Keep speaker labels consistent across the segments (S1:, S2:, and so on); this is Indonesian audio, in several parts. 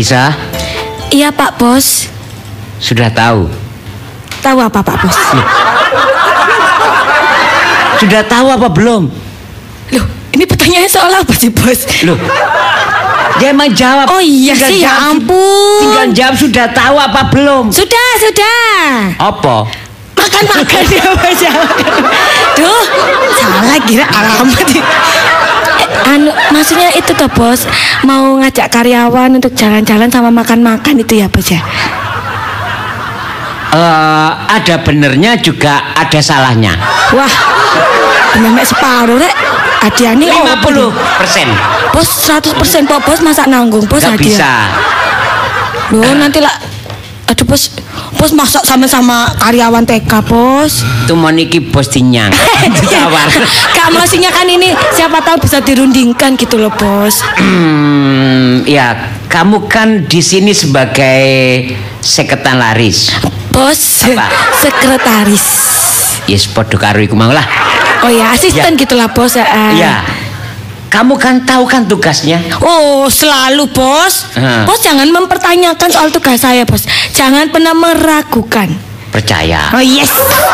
S1: Lisa?
S2: Iya Pak Bos.
S1: Sudah tahu?
S2: Tahu apa Pak Bos?
S1: Sudah tahu apa belum?
S2: Loh, ini pertanyaan soal apa sih Bos?
S1: Loh, dia emang jawab.
S2: Oh iya
S1: tinggal
S2: sih, ya
S1: jawab,
S2: ampun.
S1: Tinggal jawab sudah tahu apa belum?
S2: Sudah.
S1: Apa?
S2: Makan ya Bos. Duh, salah kira alamat. Maksudnya itu toh Bos, mau ngajak karyawan untuk jalan-jalan sama makan-makan itu ya Bos ya?
S1: Ada benernya juga ada salahnya.
S2: Wah, bener separuh rek. Hadiahnya
S1: 50%.
S2: Bos 100% Pak Bos, masa nanggung Bos
S1: Gak
S2: hadiah?
S1: bisa.
S2: Loh nanti lah. Aduh Bos masak sama-sama karyawan TK Bos.
S1: Itu mau niki bos dinyang. Ditawar.
S2: Kak maksudnya kan ini siapa tahu bisa dirundingkan gitu loh Bos.
S1: Ya, kamu kan di sini sebagai sekretaris.
S2: Bos,
S1: apa?
S2: Sekretaris.
S1: Yes, podo karo iku mau lah.
S2: Oh ya, asisten
S1: ya.
S2: gitulah Bos.
S1: Ya. Kamu kan tahu kan tugasnya?
S2: Oh, selalu Bos. Bos jangan mempertanyakan soal tugas saya Bos. Jangan pernah meragukan.
S1: Percaya.
S2: Oh yes.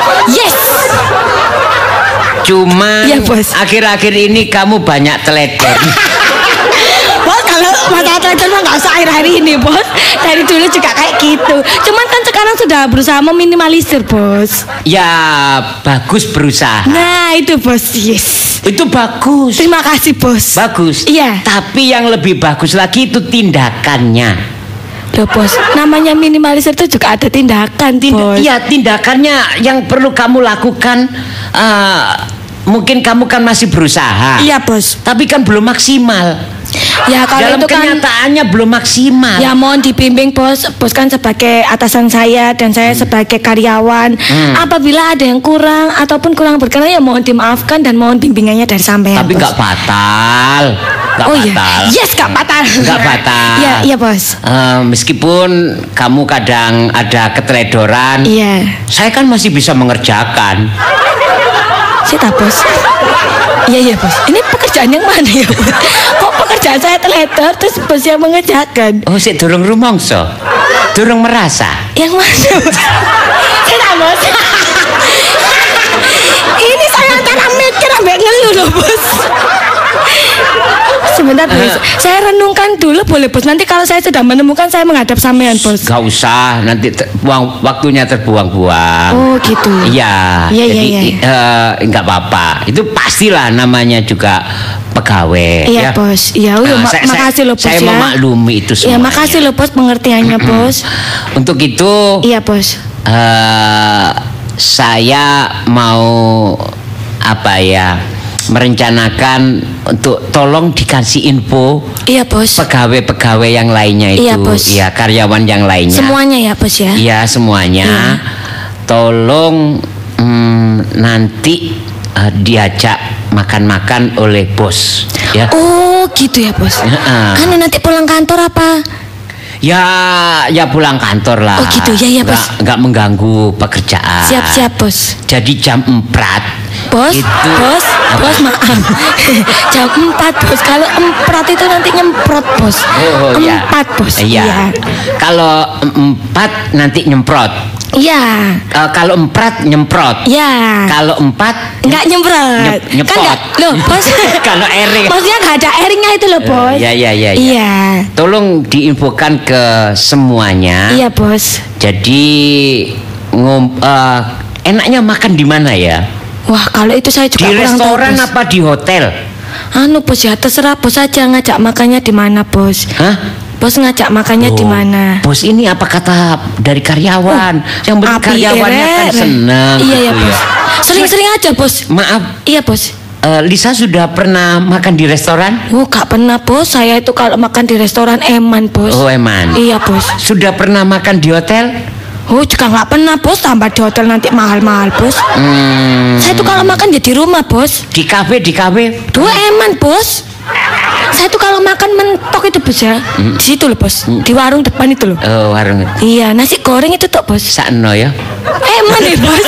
S1: Cuman
S2: ya, Bos.
S1: Akhir-akhir ini kamu banyak teledor.
S2: Bos kalau masalah teledor mah nggak usah akhir-akhir ini Bos. Dari dulu juga kayak gitu. Cuman kan sekarang sudah berusaha meminimalisir Bos.
S1: Ya bagus berusaha.
S2: Nah itu Bos, yes.
S1: Itu bagus.
S2: Terima kasih Bos.
S1: Bagus.
S2: Iya.
S1: Tapi yang lebih bagus lagi itu tindakannya.
S2: Loh Bos, namanya minimalisir itu juga ada tindakan Bos.
S1: Iya, tindakannya yang perlu kamu lakukan. Mungkin kamu kan masih berusaha.
S2: Iya Bos.
S1: Tapi kan belum maksimal.
S2: Ya kalau
S1: dalam
S2: itu kan
S1: kenyataannya belum maksimal.
S2: Ya mohon dibimbing Bos. Bos kan sebagai atasan saya dan saya sebagai karyawan. Apabila ada yang kurang ataupun kurang berkenan ya mohon dimaafkan dan mohon bimbingannya dari sampean.
S1: Tapi nggak fatal. Nggak fatal.
S2: Iya. Yes, nggak fatal.
S1: Nggak fatal.
S2: Iya Bos.
S1: Meskipun kamu kadang ada keteledoran.
S2: Iya.
S1: Saya kan masih bisa mengerjakan.
S2: Sita Bos. Iya Bos. Ini pekerjaan yang mana ya Bos? Kok pekerjaan saya teledor terus Bos yang mengerjakan?
S1: Oh, sik durung rumangsa. Durung merasa.
S2: Yang mana Bos? Sita Bos. Ini saya antara mikir sampai ngeluh loh Bos. Sebentar Bos, saya renungkan dulu boleh Bos. Nanti kalau saya sudah menemukan saya menghadap sampean Bos.
S1: Gak usah, nanti waktunya terbuang-buang.
S2: Oh gitu.
S1: Iya. Jadi nggak apa-apa. Itu pastilah namanya juga pegawai.
S2: Iya ya. Bos. Iya. Makasih loh Bos
S1: saya
S2: ya.
S1: Saya memaklumi itu semua.
S2: Iya makasih loh Bos pengertiannya Bos.
S1: Untuk itu.
S2: Iya Bos.
S1: Saya mau merencanakan untuk tolong dikasih info.
S2: Iya Bos.
S1: Pegawai-pegawai yang lainnya itu.
S2: Iya Bos.
S1: Ya karyawan yang lainnya.
S2: Semuanya ya Bos ya.
S1: Iya semuanya. Iya. Tolong nanti diajak makan-makan oleh bos. Ya.
S2: Oh gitu ya Bos. Kan nanti pulang kantor apa?
S1: Ya pulang kantor lah.
S2: Oh gitu ya Bos.
S1: Nggak mengganggu pekerjaan.
S2: Siap Bos.
S1: Jadi jam 4.
S2: Bos,
S1: itu,
S2: bos maaf. Jam 4 Bos. Kalau 4 itu nanti nyemprot Bos.
S1: Oh
S2: 4
S1: ya.
S2: Bos.
S1: Iya. Kalau 4 nanti nyemprot.
S2: Iya.
S1: Kalau 4 nyemprot.
S2: Iya.
S1: Kalau 4
S2: nggak nyemprot.
S1: Nyepot.
S2: Kan loh Bos.
S1: Kalau airing.
S2: Maksudnya nggak ada airingnya itu loh Bos.
S1: Iya. Tolong diinfokan ke semuanya.
S2: Iya Bos.
S1: Jadi enaknya makan di mana ya?
S2: Wah kalau itu saya juga
S1: di
S2: kurang
S1: restoran
S2: tahu,
S1: apa di hotel?
S2: Bos ya terserah Bos aja ngajak makannya di mana Bos.
S1: Hah?
S2: Bos ngajak makannya di mana?
S1: Bos ini apa kata dari karyawan? Yang penting karyawannya kan senang.
S2: Iya
S1: gitu
S2: ya Bos. Sering-sering aja Bos.
S1: Maaf.
S2: Iya Bos.
S1: Lisa sudah pernah makan di restoran?
S2: Gak pernah Bos. Saya itu kalau makan di restoran eman Bos.
S1: Oh eman.
S2: Iya Bos.
S1: Sudah pernah makan di hotel?
S2: Oh juga nggak pernah Bos. Tambah di hotel nanti mahal-mahal Bos. Saya tuh kalau makan ya di rumah Bos.
S1: Di kafe?
S2: Dua eman Bos. Saya tuh kalau makan mentok itu Bos ya. Di situ loh Bos. Di warung depan itu loh.
S1: Oh warung.
S2: Iya nasi goreng itu tuh Bos.
S1: Sakno ya.
S2: Eman ya Bos.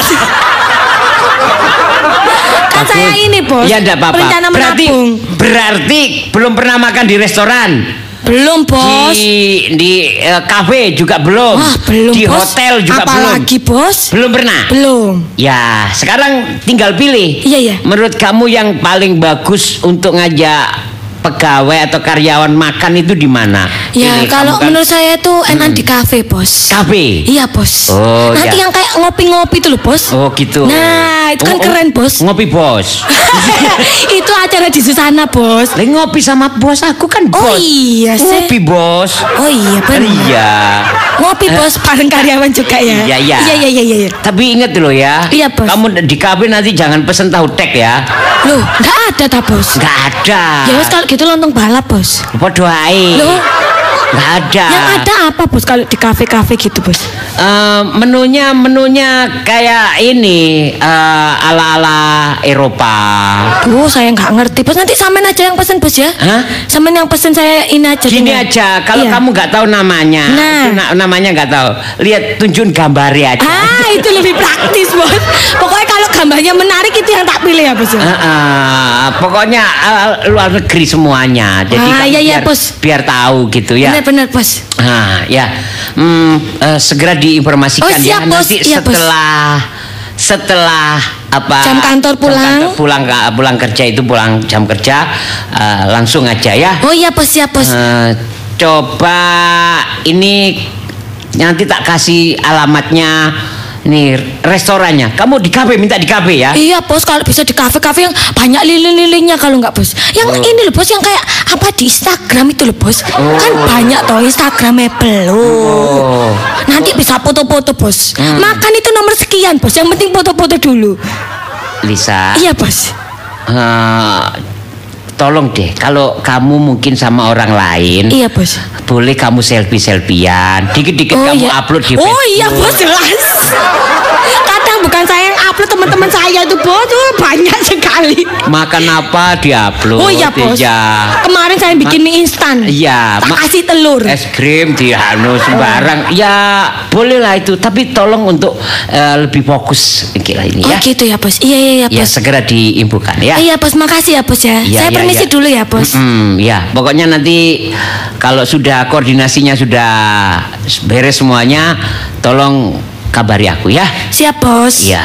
S2: Kan saya ini Bos.
S1: Ya enggak apa-apa.
S2: Rencana menabung.
S1: Berarti belum pernah makan di restoran.
S2: Belum, Bos.
S1: Di kafe juga belum.
S2: Wah, belum,
S1: di
S2: Bos.
S1: hotel juga belum.
S2: Apalagi, Bos?
S1: Belum pernah.
S2: Belum.
S1: Ya, sekarang tinggal pilih.
S2: Iya.
S1: Menurut kamu yang paling bagus untuk ngajak pegawai atau karyawan makan itu di mana?
S2: Ya,
S1: Pilih,
S2: kalau
S1: kamu kan-
S2: menurut saya tuh enak di kafe, Bos.
S1: Kafe.
S2: Iya, Bos.
S1: Oh,
S2: nanti
S1: ya.
S2: yang kayak ngopi-ngopi tuh loh, Bos.
S1: Oh, gitu.
S2: Nah, itu kan keren, Bos.
S1: Ngopi bos.
S2: Itu acara di Susana, Bos.
S1: Lah ngopi sama bos aku kan bos.
S2: Oh iya sih.
S1: Ngopi bos.
S2: Oh iya, benar.
S1: Iya.
S2: Ngopi, Bos, bareng karyawan juga ya.
S1: Iya.
S2: Iya.
S1: Tapi ingat loh ya.
S2: Iya, Bos.
S1: Kamu di kafe nanti jangan pesen tahu tek ya.
S2: Loh, enggak ada ta, Bos?
S1: Nggak ada.
S2: Ya wes kalau gitu lontong balap, Bos.
S1: Podo ae.
S2: Loh,
S1: Nggak ada.
S2: yang ada apa, Bos, kalau di kafe-kafe gitu, Bos?
S1: Menunya kayak ini ala-ala Eropa.
S2: Duh, saya nggak ngerti, Bos. Nanti sampean aja yang pesen, Bos ya.
S1: Hah?
S2: Sampean yang pesen, saya ini aja.
S1: Gini
S2: tinggal.
S1: aja, kalau
S2: Iya.
S1: kamu nggak tahu namanya,
S2: Nah.
S1: itu namanya nggak tahu, lihat tunjukin gambarnya aja.
S2: Itu lebih praktis, Bos. Pokoknya kalau gambarnya menarik itu yang tak pilih ya, Bos.
S1: Pokoknya luar negeri semuanya, jadi kamu
S2: iya,
S1: biar,
S2: Bos.
S1: biar tahu gitu ya.
S2: Benar-benar, Bos.
S1: Ya, segera diinformasikan
S2: Oh, siap,
S1: ya
S2: Bos.
S1: nanti
S2: Iya, Bos.
S1: setelah apa
S2: Jam kantor pulang.
S1: pulang kerja itu pulang jam kerja langsung aja ya.
S2: Oh iya, Bos, siap, Bos.
S1: Coba ini nanti tak kasih alamatnya nih restorannya. Kamu di kafe minta di kafe ya.
S2: Iya, Bos, kalau bisa di kafe-kafe yang banyak lilin-lilinnya, kalau nggak, Bos. Yang ini loh, Bos, yang kayak apa di Instagram itu loh, Bos. Kan banyak toh Instagramable loh. Nanti bisa foto-foto, Bos. Makan itu nomor sekian, Bos. Yang penting foto-foto dulu.
S1: Lisa.
S2: Iya, Bos.
S1: Tolong deh, kalau kamu mungkin sama orang lain,
S2: Iya, Bos.
S1: boleh kamu selfie-selfian. Dikit-dikit kamu
S2: iya.
S1: upload di
S2: Oh
S1: Facebook.
S2: iya, Bos, jelas. Kadang bukan saya yang upload, teman-teman saya itu, Bos. Banyak sekali.
S1: Makan apa diupload.
S2: Oh iya, Bos.
S1: Iya.
S2: Kemarin saya bikin mie instan.
S1: Iya,
S2: Tak kasih telur.
S1: Es krim di sembarang. Ya, boleh lah itu, tapi tolong untuk lebih fokus gila ini
S2: Oh
S1: ya.
S2: gitu ya, Bos. Iya,
S1: Ya,
S2: Bos.
S1: segera diinfokan ya.
S2: Iya, Bos, makasih ya, Bos ya.
S1: Iya,
S2: Saya
S1: iya,
S2: permisi
S1: iya.
S2: dulu ya, Bos.
S1: Ya, pokoknya nanti kalau sudah koordinasinya sudah beres semuanya, tolong kabari aku ya.
S2: Siap, Bos.
S1: Iya.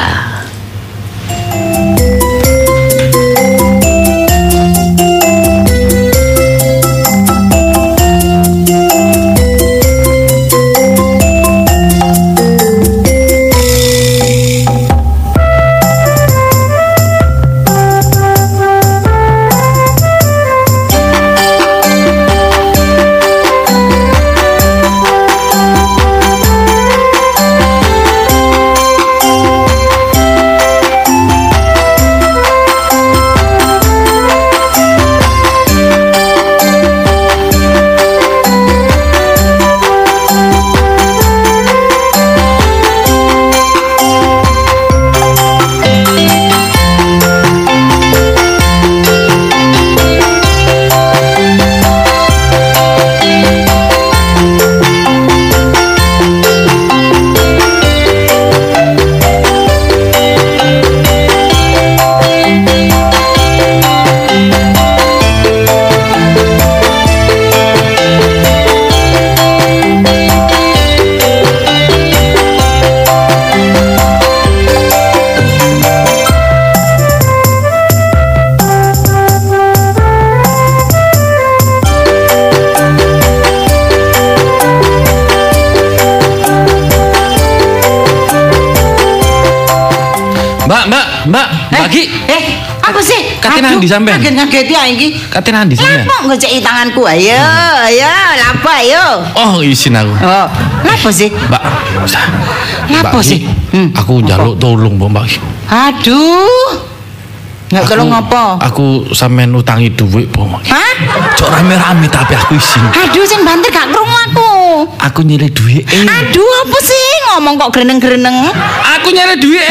S3: Mbak Ki.
S4: Apa sih?
S3: Kate nang ndi sampean?
S4: Ngageti ya iki.
S3: Kate nang ndi sampean?
S4: Apa ngeceki tanganku? Ayo, lapa ayo.
S3: Oh, isin aku.
S4: Oh, lapa sih?
S3: Mbak.
S4: Lapa
S3: Mbak Ki,
S4: sih?
S3: Aku njaluk tolong, Mbak Ki.
S4: Aduh. Nggak kalau ngopo?
S3: Aku sampean utangi duit, Mbak Ki.
S4: Hah?
S3: Cok rame-rame tapi aku isin.
S4: Aduh, sing banter gak krungu aku.
S3: Aku nyilih duit.
S4: Aduh, apa sih ngomong kok greneng-greneng?
S3: Aku nyilih duit.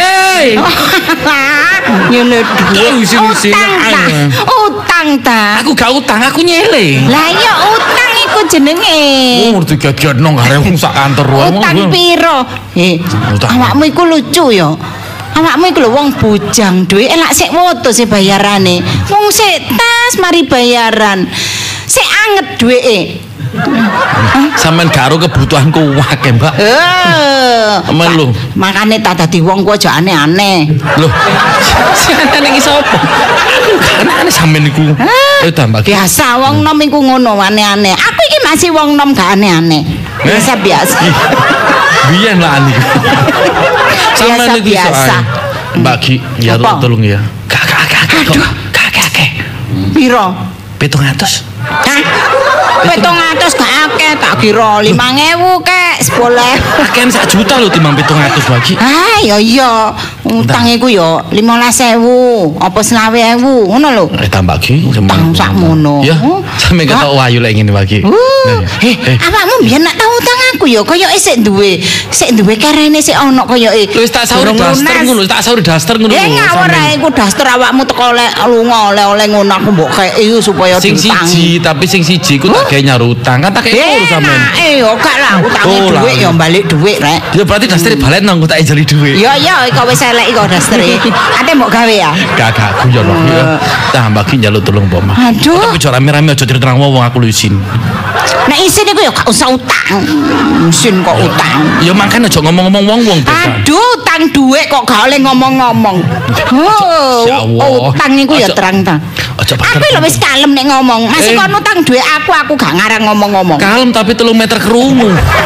S4: Nyeleh duit.
S3: Isin-isin.
S4: Utang ta.
S3: Aku gak utang, aku nyilih.
S4: Lah iya utang iku jenenge.
S3: Oh, digagiano gare wong sak kantor wae.
S4: Utang piro?
S3: Utang.
S4: Awakmu iku lucu ya. Awakmu iku lho wong bujang, duwe elak sik woto sih bayarane. Wong sik tas mari bayaran. Sik anget duweke.
S3: Sampeyan gak karo kebutuhanku akeh, Mbak. Men lho.
S4: Makane tak dadi wong ku aja aneh-aneh.
S3: Loh. Sing aneh iki sapa? Aku gak aneh sampeyan niku. Ta, Mbak.
S4: Biasa wong nom iku ngono aneh-aneh. Aku iki masih wong nom gak aneh-aneh. Biasa.
S3: Biyen lah niku. Sampeyan niku
S4: biasa.
S3: Mbak Ki, ya tolong ya. Aduh, kakek.
S4: Piro?
S3: 700.
S4: Hah? 700 gak akeh, tak kira 5.000 kek, 10.000.
S3: Akehan 1 juta lho timbang 700 bagi.
S4: Ah, ya iya. Utang iku ya 15.000, apa 20.000, ngono lho.
S3: Tambah Ki,
S4: utang sakmono.
S3: Ya, sampe ketok wayu lek ngene bagi.
S4: Awakmu mbiyen nak tau utang aku ya koyoke sik duwe karene sik ono koyoke.
S3: Wis tak sauri daster ngono.
S4: Ya ngawur ae iku daster awakmu teko lunga oleh-oleh ngono aku mbok kei supaya
S3: sing siji, tapi sing siji ku tak gawe nyaru utang. Kan tak kei loro sampean.
S4: Yo gak lah utange dhuwit ya balik dhuwit rek.
S3: Ya berarti daster balen nang tak jeli dhuwit.
S4: Ya kok wis elek iku dastere. Ate mbok gawe ya?
S3: Gak guyon lho. Tambah Ki njaluk tulung apa mah.
S4: Aduh.
S3: Tapi aja rame-rame aja cerita nang wong aku lho isin.
S4: Nek isin iku ya gak usah utang. Isin kok utang.
S3: Ya makane aja ngomong-ngomong wong-wong.
S4: Aduh, utang dhuwit kok gak oleh ngomong-ngomong. Utang iku ya terang-terang. Aku lho wis kalem nek ngomong. Masih kon utang dhuwit aku gak ngarang ngomong-ngomong.
S3: Kalem tapi 3 meter kerungu.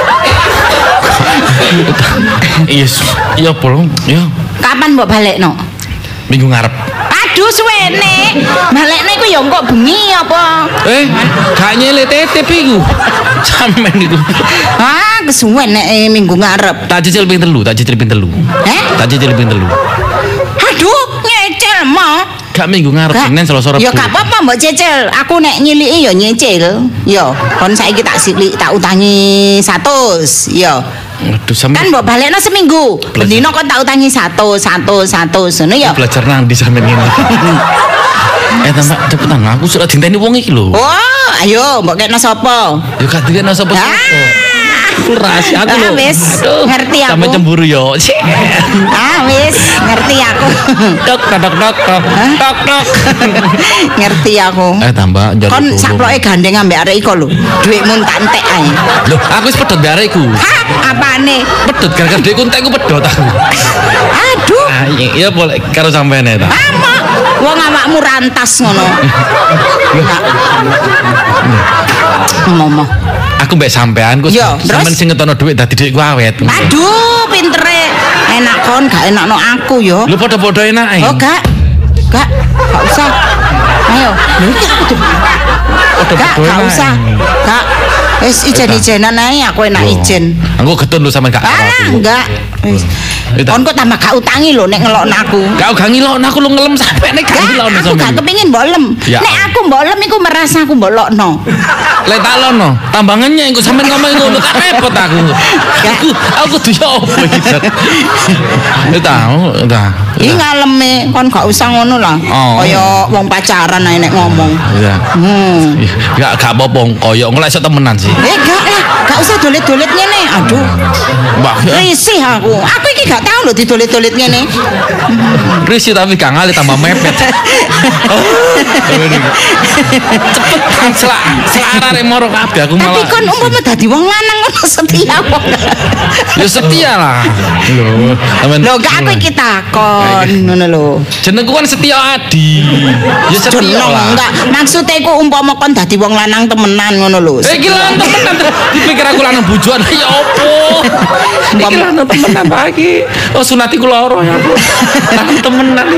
S3: Yes, iya bolong. Ya.
S4: Kapan mbok balekno?
S3: Minggu ngarep.
S4: Aduh suwene. Balekne iku ya engko bengi apa?
S3: Gak nyele tetep iku. Sampeyan niku.
S4: Ah, kesuwen nek minggu ngarep.
S3: Tak cicil ping 3. Tak cicil ping 3. Tak cicil ping 3.
S4: Aduh, nyecil mah.
S3: Gak minggu ngarep Senin Selasa Rabu.
S4: Ya gak apa-apa mbok cicil. Aku nek nyiliki ya nyicil. Ya, kon saiki tak silik tak utangi 100. Ya.
S3: Aduh sampe.
S4: Kan mbok balekno seminggu. Bendino kon tak utangi 100 ngono ya.
S3: Belajar nang di sampean ngene. Tambah cepetan aku sudah dinteni wong iki lho.
S4: Oh, ayo mbok kena sapa?
S3: Ya gak dikene sapa-sapa. Rahasia aku lho.
S4: Wis, ngerti aku.
S3: Sampe cemburu yo.
S4: Wis, ngerti aku.
S3: Tok.
S4: Ngerti aku.
S3: Tambah njaluk.
S4: Kon saploke gandeng ambek arek iko lho. Dhuwitmu tak entek ae.
S3: Lho, aku wis pedhot mbek arek iku.
S4: Apane?
S3: Pedhot gara-gara dhuwitku entekku pedhot aku.
S4: Aduh.
S3: Iya boleh karo sampean ta.
S4: Wong awakmu rantas ngono. Ngomong.
S3: Aku mbek sampean ku sampean sing ngetono dhuwit dadi dhuwitku awet.
S4: Aduh, pintere. Enak kon gak enakno aku yo.
S3: Lho padha-padha enake.
S4: Oh, gak usah. Ayo, lho iki aku tuh. Gak usah. Gak. Wis ijen-ijenan ae aku enak ijen.
S3: Aku getun lho sampean gak
S4: aku. Enggak. Wis. Kon kok tambah gak utangi lho nek ngelokno aku.
S3: Gak ngilokno aku lho ngelem sampe nek gak ngilokno
S4: sampean. Aku gak kepengin mbok lem. Nek aku mbok lem iku merasa aku mbok lokno.
S3: Lek tak lono, tambah ngenyek engko sampean ngomong ngono tak repot aku. Aku kudu yo opo iki. Ta.
S4: Iki ngaleme kon gak usah ngono lah. Kaya wong pacaran ae nek ngomong.
S3: Iya. Gak apa-apa koyo engko lek iso temenan sih.
S4: Gak usah dolet-dolet ngene. Aduh. Risih aku. Aku iki gak tau lho didolet-dolet ngene.
S3: Risih tapi gak ngali tambah mepet. Cepet selak arek moro kabeh aku malah.
S4: Tapi kon umpama dadi wong lanang ngono setia kok.
S3: Ya setia lah.
S4: Lho gak aku iki takon ngono lho.
S3: Jenengku kan Setia Adi. Ya setia lah.
S4: Enggak, maksude iku umpama kon dadi wong lanang temenan ngono lho.
S3: Iki lanang temenan. Dipikir aku lanang bujuan ya opo. Iki lanang temenan lagi. Oh sunatiku loro ya. Lanang temenan.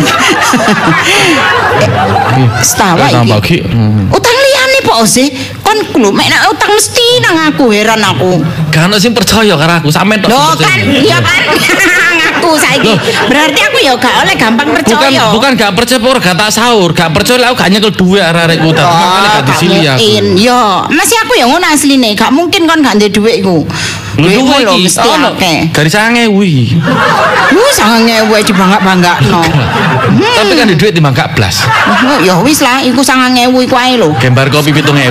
S4: Setawa iki. Utang liyane po sih. Kon lho mek utang mesti nang aku heran aku.
S3: Gak ono sing percaya karo aku sampe tok.
S4: Lho kan, iya kan. Aku saiki. Berarti aku ya gak oleh gampang percaya.
S3: Bukan gak percaya ora gak tak sahur, gak percaya aku gak nyekel duwe arek-arekku tadi makane gak disili aku.
S4: Yo, masih aku ya ngono asline, gak mungkin kon gak ndek dhuwitku.
S3: Duwe lho
S4: mesti akeh.
S3: Garis 9.000 iki.
S4: 9.000 dibangak-bangakno.
S3: Tapi kan duit timbang gak blas.
S4: Ya wis lah, iku 9.000 iku ae lho.
S3: Gambar kopi 7.000.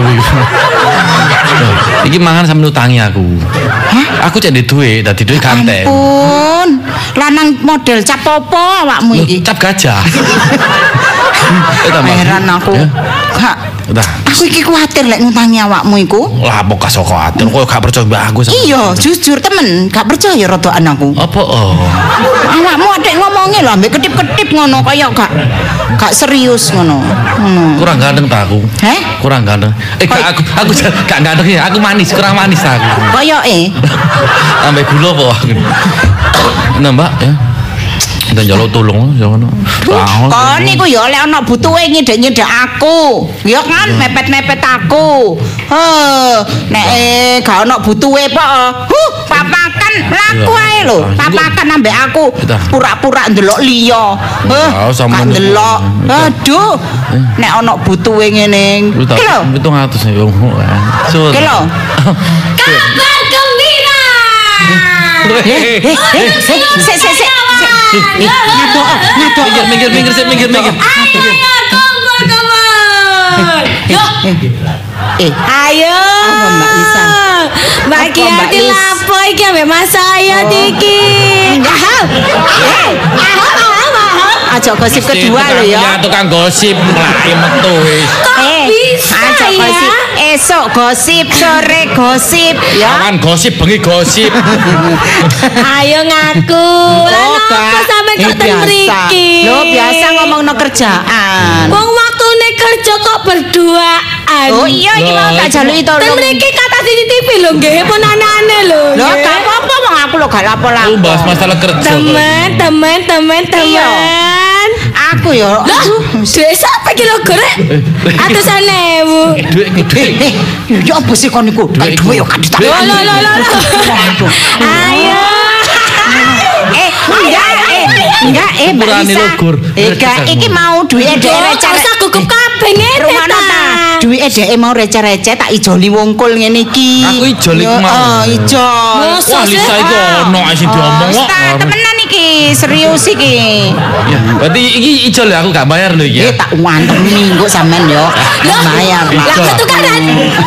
S3: Iki mangan sampe utangi aku. Aku cek ndek duit, dadi duit ganteng.
S4: Ampun. Lanang model cap opo awakmu iki?
S3: Cap gajah.
S4: Heran aku. Gak Aku iki kuwatir lek ngutangi awakmu iku.
S3: Lah apa kasok kuwatir kowe gak percaya mbak aku.
S4: Iya, jujur temen, gak percaya rodokan aku.
S3: Apa
S4: Awakmu adek ngomongnya lho ambek ketip-ketip ngono kaya gak serius ngono.
S3: Kurang ganteng ta aku?
S4: Heh?
S3: Kurang ganteng. Aku gak ganteng ya, aku manis, kurang manis ta aku.
S4: Koyoke.
S3: Ambek gula apa aku. Nah, Mbak ya. Dan jaluk tolong ya ngono.
S4: Kon niku ya lek ana butuhe nyedek-nyedek aku. Ya kan mepet-mepet aku. Nek gak ana butuhe kok. Papakan laku ae lho. Papakan ambek aku. Pura-pura ndelok liya. Gak ndelok. Aduh. Nek ana butuhe ngene. Ki lho.
S3: 700 ya.
S4: Ki lho.
S2: Kabar gembira.
S3: Minggir.
S2: Ayo.
S4: Mbak Lisa?
S2: Mbak Kiati lapo iki ambek Mas saya iki.
S4: Aja gosip kedua lho ya.
S3: Ya tukang gosip mlayu metu wis.
S4: Aja gosip. Esok gosip, sore gosip ya.
S3: Awan gosip, bengi gosip.
S2: Ayo ngaku. Lah napa sampe kok ten mriki?
S4: Lho biasa ngomongno kerjaan.
S2: Wong waktune kerja kok berduaan.
S4: Oh iya iki mau tak jaluki
S2: Ten
S4: tolong.
S2: mriki kata CCTV lho nggih pun aneh-aneh lho.
S4: Lho gak apa-apa wong aku lho gak lapo-lapo.
S3: Bahas masalah kerja.
S2: Teman.
S4: Aku ya.
S2: Duit sampe kilo gorek. Atusan ewu.
S4: Ya apa sih kon niku? Duit yo kadit.
S2: Loh. Ayo.
S4: Enggak, Mbak
S3: Urane
S4: Lisa.
S3: lugur.
S4: Iki mau duit dhek receh.
S2: Usah gugup kabeh ngene
S4: Rumana ta. Duit dhek mau receh-receh tak ijoli wongkul ngene iki.
S3: Aku ijoli ku mau.
S4: Ijol.
S3: Wah, Lisa iku ono sing diomong kok.
S4: Temenan iki, serius iki.
S3: Ya, berarti iki ijol ya aku gak bayar lho iki.
S4: Tak wantemi kok sampean yo. Bayar.
S2: Lah tukaran.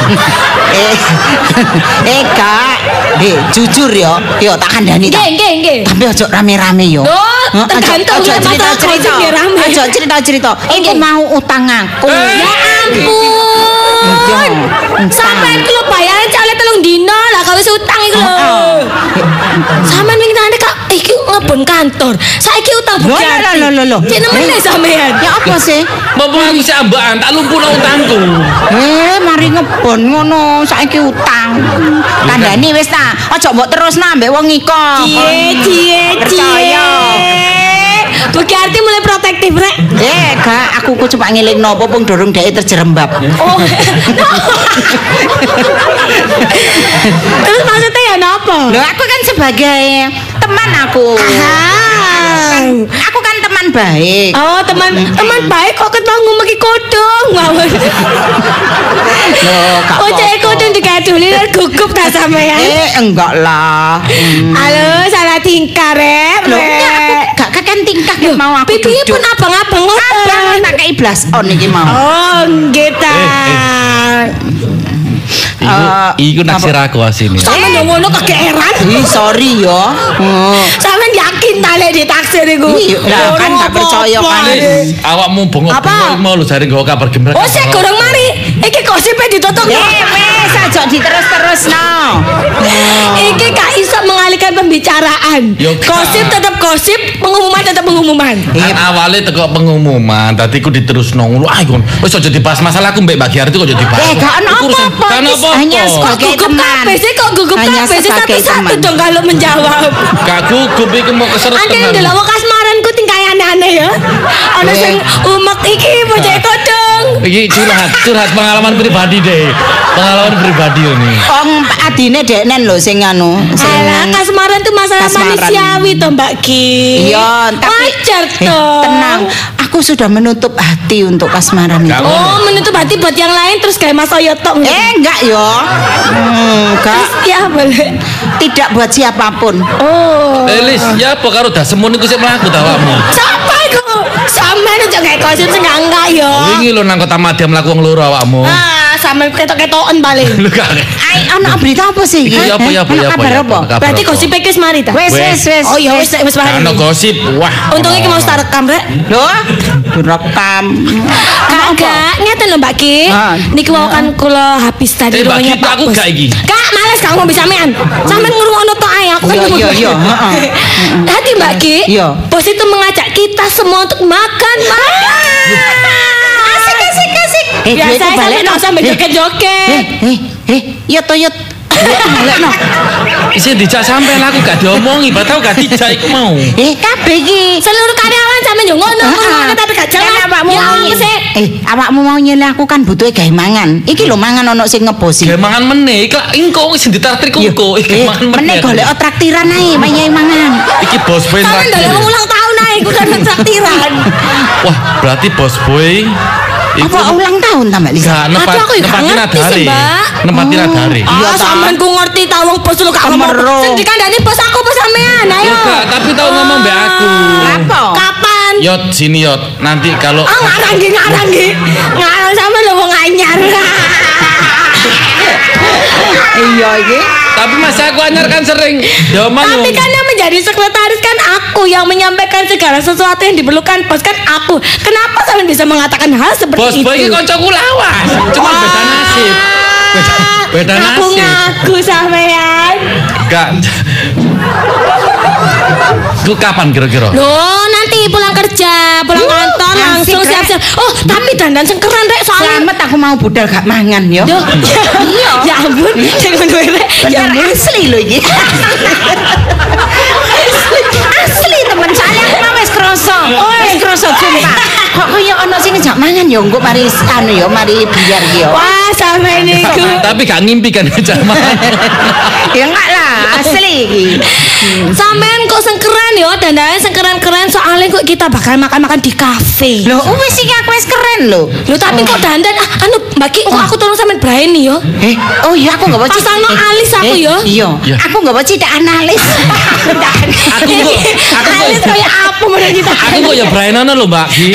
S4: Kak. Jujur yo tak kandhani ta.
S2: Nggih.
S4: Tapi ojo rame-rame yo.
S2: Tergantung
S4: Aja cerita-cerita. Aja cerita-cerita. Iku mau utang aku.
S2: Ya ampun. Sampai iki lho bayaran cale 3 dino lah kalau utang iku lho. Sampeyan wingi nang Kak iki ngebon kantor. Saiki utang bukti.
S4: Lho.
S2: Cek nemene sampean.
S4: Ya apa sih?
S3: Mumpung aku sik ambakan tak lumpuhno utangku.
S4: Mari ngebon ngono saiki utang. Kandhani wis ta. Aja mbok terusno ambek wong iko.
S2: Cie.
S4: Percaya.
S2: Bu Kiarti mulai protektif rek.
S4: Gak, aku kok cuma ngelingno apa pun dorong dhek terjerembab.
S2: Oh. Terus maksudnya ya napa?
S4: Loh, aku kan sebagai teman aku. Aku kan teman baik.
S2: Oh, teman baik kok ketemu ngomongin kodong. Ngawur.
S4: Loh,
S2: Oh, cek kodong digaduli dan gugup ta sampean.
S4: Enggak lah.
S2: Halo, salah tingkah rek.
S4: Loh, aku gak kakek tingkah mau aku
S2: Pipinya
S4: duduk.
S2: pun abang-abang
S4: Abang tak kei blas on iki mau.
S2: Oh, nggih ta.
S3: Iku naksir aku asine.
S2: Sampeyan yo ngono kegeeran.
S4: Sorry yo.
S2: Sampeyan yakin ta lek ditaksir iku?
S4: Lah kan gak percaya kan.
S3: Awakmu bengok-bengok mau lho jare nggawa kabar gembira.
S2: Oh, sik gorong mari. Iki gosipe ditutup.
S4: Wes aja diterus-terusno.
S2: Iki gak iso mengalihkan pembicaraan.
S3: Yo, Kak.
S2: Gosip tetap gosip, pengumuman tetap pengumuman.
S3: Kan awalnya teko pengumuman, tadi ku diterusno ngono. Ah kon wis aja dibahas masalahku mbek Mbak Giarti kok aja dibahas.
S4: Gak ono apa-apa.
S3: Kan apa?
S4: Hanya
S2: Kok
S4: sebagai
S2: gugup
S4: teman.
S2: kabeh sih, kok gugup
S4: Hanya
S2: kabeh sih
S4: sebagai
S2: satu-satu
S4: teman.
S2: dong kalau menjawab.
S3: Gak gugup iku mau keseret
S2: Ane
S3: tenan.
S2: ndelok wong kasmaranku tingkah aneh-aneh ya. Ana sing umek iki bocah kodong.
S3: Iki curhat pengalaman pribadi deh. Pengalaman pribadi ini.
S4: Om adine deknen lho sing anu.
S2: Alah, kasmaran tuh masalah
S4: Kasmaran.
S2: manusiawi toh Mbak Ki.
S4: Iya, tapi
S2: wajar toh.
S4: tenang. Aku sudah menutup hati untuk kasmaran itu.
S3: Gak
S2: Oh, menutup hati buat yang lain terus kayak Mas Oyo tok.
S4: Enggak yo. Enggak.
S2: Ya boleh.
S4: Tidak buat siapapun.
S2: Oh.
S3: Elis, ya apa karo dasemun iku sik mlaku ta awakmu?
S2: Siapa iku? Sampeyan aja kayak gosip sing enggak yo.
S3: Wingi lho nang Kota Madya mlaku wong loro awakmu.
S2: Ah, sampe ketok-ketoken paling.
S3: Lho gak.
S4: Ai ana berita apa sih iki?
S3: Iya, apa?
S4: Kabar apa?
S2: Berarti gosip iki wis mari ta?
S4: Wes.
S2: Oh iya wis mari.
S3: Ono gosip. Wah.
S2: Untungnya iki mau tak rekam rek.
S4: Lho, direkam.
S2: Kagak, ngeten lho Mbak Ki. Niki mau kan kula habis tadi
S3: Mbak Ki,
S2: ruangnya Pak
S3: aku
S2: Bos.
S3: gak iki.
S2: Kak, males gak ngomong sampean. Sampean ngrungokno tok ae aku kan.
S4: Iya,
S2: Tadi Mbak Ki,
S4: Iya.
S2: bos itu mengajak kita semua untuk makan. Asik. Biasa sampe no sampe joget-joget.
S4: Iya toh yut. Balekno.
S3: Isi dijak sampean aku gak diomongi, batau gak dijak iku mau.
S4: Kabeh iki.
S2: Seluruh karyawan sampe yo ngono tapi gak jelas.
S4: Awakmu
S2: Ya,
S4: mau
S2: sik.
S4: awakmu mau nyele aku kan butuh gawe mangan. Iki lho mangan ono sing ngebosi.
S3: Gawe mangan meneh, iki engko sing ditraktir engko. Iki mangan meneh.
S4: Meneh golek traktiran ae, mayae mangan.
S3: Iki bos boy
S2: Sampean
S3: traktir.
S2: ndelok ulang tahun ae iku kan traktiran.
S3: Wah, berarti bos boy iku
S4: Apa ulang tahun ta Mbak Lisa?
S3: gak
S2: Aduh, aku ya gak
S3: nempatin
S2: ngerti sih,
S3: adare.
S2: Mbak.
S3: Nempatin adare.
S4: Iya,
S2: Ah,
S4: ta.
S2: sampean ku ngerti ta wong bos lu gak ngomong.
S4: Kemero.
S2: Sing dikandani bos aku apa sampean? Ayo.
S3: Yo gak, tapi tau ngomong mbak aku.
S4: Apa?
S2: Kapan?
S3: Yot sini Yot, nanti kalau
S2: Ah, ngarang nggih. Ngarang sampean lho wong anyar.
S4: Iya iki.
S3: tapi masa aku anyar kan sering domang.
S2: Tapi kan yang menjadi sekretaris kan aku yang menyampaikan segala sesuatu yang diperlukan bos kan aku. Kenapa sampean bisa mengatakan hal seperti
S3: Bos
S2: itu?
S3: boy iki kancaku lawas. Cuma beda nasib. Beda
S2: Aku
S3: nasib.
S2: ngaku sampean.
S3: Gak. Itu kapan kira-kira?
S2: Loh, nanti pulang kerja, pulang kantor
S4: asik,
S2: langsung
S4: Rek.
S2: siap-siap. Oh, tapi dandan sing keren rek soalnya.
S4: Selamat aku mau budal gak mangan yo.
S2: Duh, ya ampun, jangan gue rek. Ya
S4: Bener
S2: ampun.
S4: asli lho iki. Asli temen saya aku mah wis kroso. Wis kroso sumpah. Kok koyo ono sing ngejak mangan yo engko mari anu yo mari biar yo.
S2: Wah, sampe niku.
S3: Tapi gak ngimpi kan zaman.
S4: Ya enggak lah, asli iki.
S2: Sampean kok sing keren yo, dandannya sing keren-keren soalnya kok kita bakal makan-makan di kafe.
S4: Lho wis iki aku wis keren lho.
S2: Lho tapi kok dandan anu Mbak Ki, kok aku tolong sampean Braini yo.
S4: Oh iya aku enggak baca.
S2: Pasangno alis aku yo.
S4: Iya.
S3: Ya.
S4: Aku enggak baca tidak analis.
S2: Alis kayak apa menurut kita?
S3: Aku kok ya Brian lho Mbak Ki.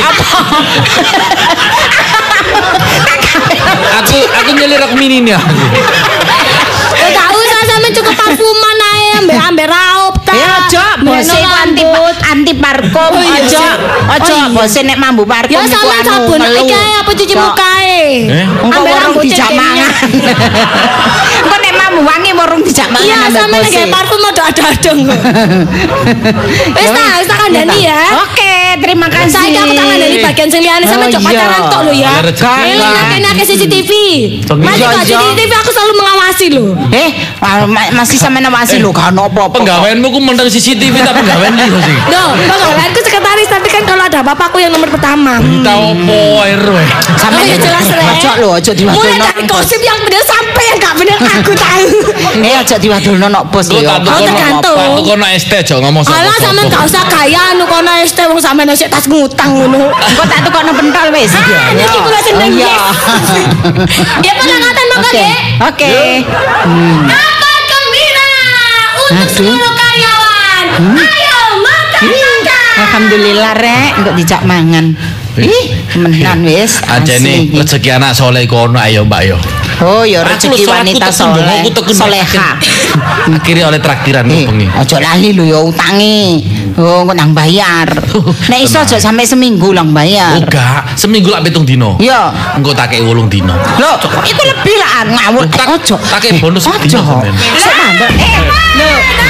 S3: aku nyelirak mini nih aku.
S2: Gak usah sampean cukup parfuman ae ambek raup ta.
S4: Ya aja bose anti parfum
S2: Oh, iya,
S4: aja.
S2: sih.
S4: Aja
S2: Oh, iya.
S4: bose nek mambu parfum
S2: Ya
S4: iku
S2: sampean
S4: anu,
S2: sabun
S4: melu.
S2: iki ae apa cuci muka ae.
S4: Engko
S2: Ambek
S4: warung
S2: rambut
S4: dijak
S2: cekeknya.
S4: mangan. Engko nek mambu wangi warung dijak mangan
S2: Iya,
S4: ambek
S2: sampean
S4: bose.
S2: lagi parfum ada-adong kok. Wis tak kandhani ya.
S4: Oke, terima kasih.
S2: Saya aku tak kandhani bagian sing liyane sampean
S4: Oh,
S2: coba
S4: iya.
S2: pacaran tok lho ya.
S3: Ya, rezeki.
S2: Ini nake CCTV. Masih
S4: Iya,
S2: kok
S4: iya.
S2: CCTV aku selalu mengawasi lho.
S4: Masih sama nawasi lho gak ono apa-apa.
S3: Penggaweanmu ku mendeng CCTV tapi penggawean liyo sih.
S2: Loh, penggaweanku sekretaris tapi kan kalau ada apa-apa aku yang nomor pertama.
S3: Berita opo RW.
S4: Sama
S2: Oh, ya jelas, Rek.
S4: Ojo lho, ojo
S2: Mulai
S4: diwadulno.
S2: dari gosip yang benar sampai yang gak benar aku tahu.
S4: Ojo diwadulno nok bos
S3: Lu
S4: lho.
S3: tak
S2: Oh, tergantung.
S3: Aku kono ST aja ngomong sama.
S2: Alah sampean gak usah kaya anu kono ST wong sampean sik tas ngutang ngono.
S4: Engko tak tukokno pentol wis.
S2: Ah, niki kula seneng
S4: Oh, iya.
S2: yes. Ya penangatan monggo
S4: Oke.
S2: Dek.
S4: Oke.
S2: Kabar gembira untuk
S4: Aduh.
S2: seluruh karyawan. Ayo makan.
S4: Alhamdulillah rek untuk dijak mangan. Ih, menan wis.
S3: Aja nih
S4: asli.
S3: rezeki anak soleh kono ayo Mbak yo.
S4: Oh, ya
S3: Aku
S4: rezeki
S3: lho,
S4: wanita
S3: aku teken,
S4: soleh.
S3: aku teken.
S4: Soleha.
S3: Akhirnya oleh traktiran bengi.
S4: Ojo lali lho ya utangi. Oh, kok nang bayar. Nek iso aja sampai seminggu lang bayar.
S3: Enggak, seminggu lak 7 dino.
S4: Iya.
S3: Engko tak kei 8 dino.
S4: Loh, iku lebih lah ngawur.
S3: Tak-
S4: Ojo.
S3: tak kei bonus
S4: Ojo.
S3: dino sampean.
S4: Sik mandek. Lho.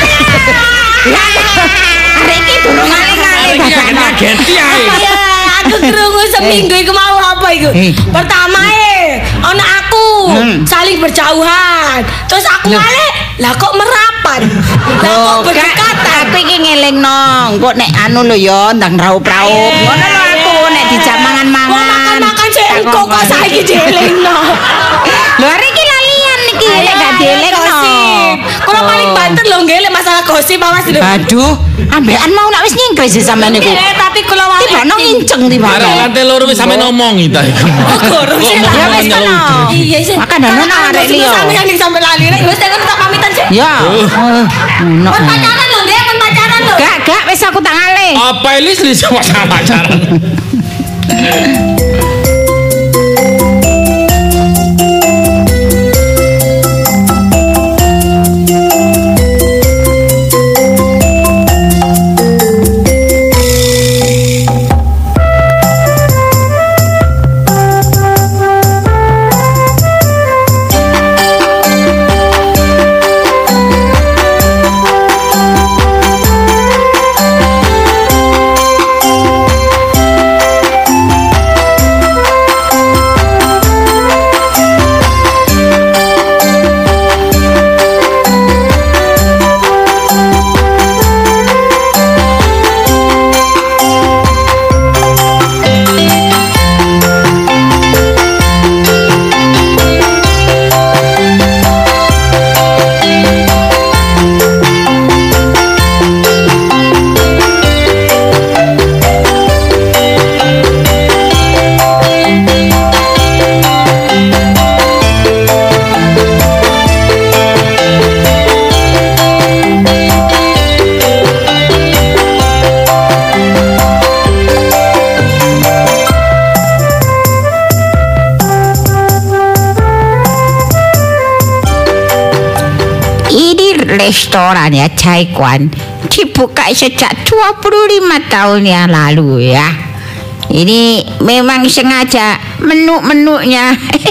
S4: Arek iki durung ngalih-ngalih.
S3: Iki ngageti ae.
S2: Iya, aku krungu seminggu iku mau apa iku? Pertama ana aku saling berjauhan. Terus aku ngalih, lah kok merapat. Lah kok berdekatan.
S4: Aku iki ngelingno, engko nek anu lho ya ndang raup-raup. Ngono lho aku nek dijak
S2: Mau
S4: mangan-mangan.
S2: makan-makan sik engko kok saiki dielingno.
S4: Lho arek iki lalian iki nek gak dielingno.
S2: Kalau paling banter lho nggih lek masalah gosip awas lho.
S4: Aduh, ambekan mau nak wis nyingkris sih sampean niku.
S2: Tapi kalau wali
S4: Tiba no nginceng tiba.
S3: Arek lantai loro wis sampe ngomongi ta iku.
S2: Gorong sih lah.
S4: Ya wis kono.
S2: Iya sih.
S4: Makan dano nang arek liya.
S2: Sampe yang sampe lali rek wis tekan tak pamitan sih.
S4: Ya. Ono.
S2: Pun pacaran lho nggih, pun pacaran lho.
S4: Gak wis aku tak ngalih.
S3: Apa Elis sama pacaran?
S4: restoran ya Caikwan dibuka sejak 25 tahun yang lalu ya. Ini memang sengaja menunya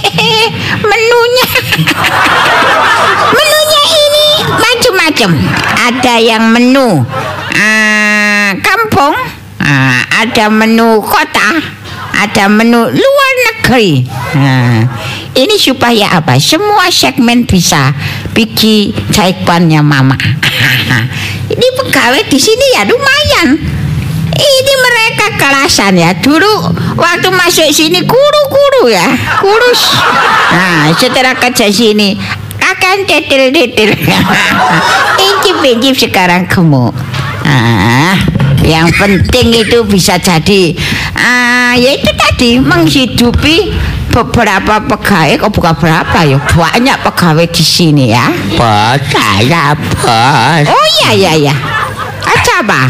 S4: menunya ini macam-macam. Ada yang menu kampung, ada menu kota, ada menu luar negeri. Ini supaya apa? Semua segmen bisa pergi Caikwannya Mama. Ini pegawai di sini ya lumayan. Ini mereka kelasan ya. Dulu waktu masuk sini guru-guru ya, kurus. Nah, setelah kerja sini akan tetel-tetel. Incip-incip sekarang gemuk. Yang penting itu bisa jadi ya itu tadi menghidupi beberapa pegawai. Kok bukan berapa ya, banyak pegawai di sini ya.
S1: Bos, saya bos.
S4: Oh iya. Aja apa?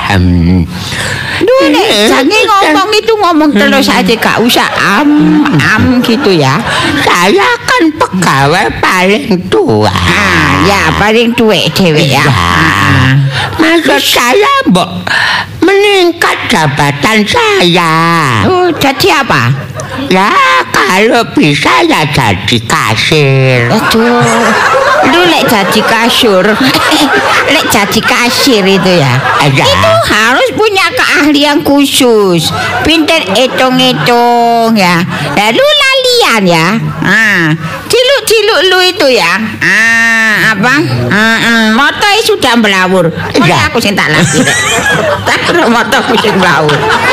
S4: Jangan ngomong itu ngomong terus aja, gak usah gitu ya.
S1: Saya kan pegawai paling tua.
S4: Ya paling tua cewek ya.
S1: Maksud saya mbok meningkat jabatan saya.
S4: Oh, jadi apa?
S1: Ya kalau bisa ya jadi kasir.
S4: Aduh, lu lek jadi kasur, lek jadi kasir itu ya. Itu harus punya keahlian khusus, pinter hitung-hitung ya. Lalu lalian ya. Ciluk-ciluk lu itu ya. Motor sudah melawur. Aku sing tak lagi. Motorku sing melawur.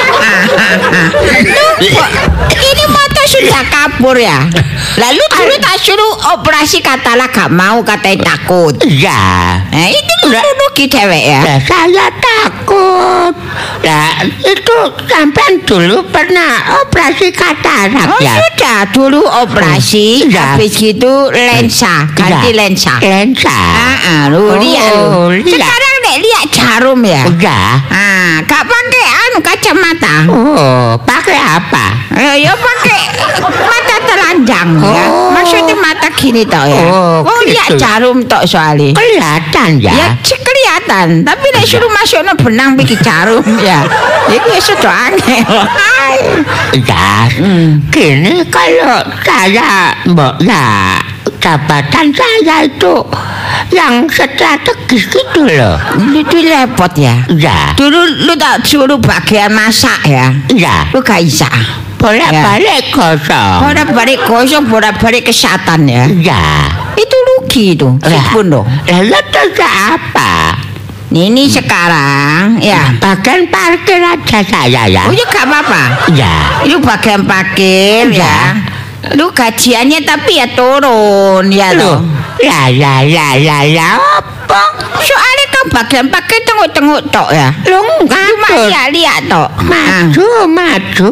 S4: Ini motor sudah kabur ya. Lalu dulu tak suruh operasi katalah gak mau, katanya takut.
S1: Iya.
S4: Itu rugi cewek ya.
S1: Saya takut. Nah, itu sampai dulu pernah operasi katarak ya.
S4: Sudah dulu operasi, habis gitu lensa, ganti lensa. Lu lihat lu. Sekarang lihat jarum ya. Gak pakai kacamata.
S1: Oh, pakai apa?
S4: Ya pakai mata telanjang ya. Maksudnya mata gini toh ya. Oh lihat jarum toh soalnya.
S1: Kelihatan ya.
S4: Ya kelihatan. Tapi nek suruh masuk no benang bikin jarum ya. Itu sudah angel.
S1: Ya, gini kalau saya ya jabatan saya itu yang strategis gitu loh.
S4: Itu repot ya.
S1: Ya.
S4: Dulu lu tak suruh bagian masak ya.
S1: Ya.
S4: Lu gak bisa.
S1: Bolak-balik kosong.
S4: Bolak-balik kesehatan ya.
S1: Ya.
S4: Itu rugi itu. Sipun loh.
S1: Lalu terus apa?
S4: Ini sekarang ya
S1: bagian parkir aja saya ya.
S4: Oh ya gak apa-apa.
S1: Ya.
S4: Itu bagian parkir ya. Lu gajiannya tapi ya turun ya loh.
S1: Ya apa?
S4: Soalnya kan bagian pakai tengok-tengok tok ya.
S1: Lu enggak
S4: cuma lihat tok.
S1: Maju,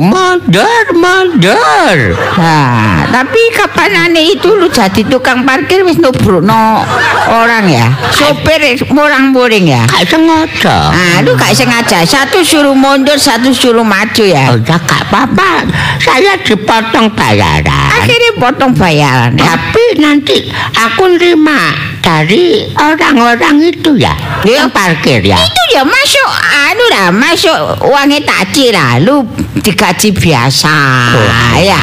S1: mundur.
S4: Nah, tapi kapan aneh itu lu jadi tukang parkir wis nubrukno orang ya. Sopir murang-muring ya.
S1: Gak sengaja.
S4: Lu gak sengaja. Satu suruh mundur, satu suruh maju ya.
S1: Oh ya gak apa-apa. Saya dipotong bayaran.
S4: Akhirnya potong bayaran.
S1: Tapi nanti aku nerima dari orang-orang itu ya. Yang parkir ya.
S4: Itu ya masuk masuk uangnya taci lah. Lu digaji biasa. Ya.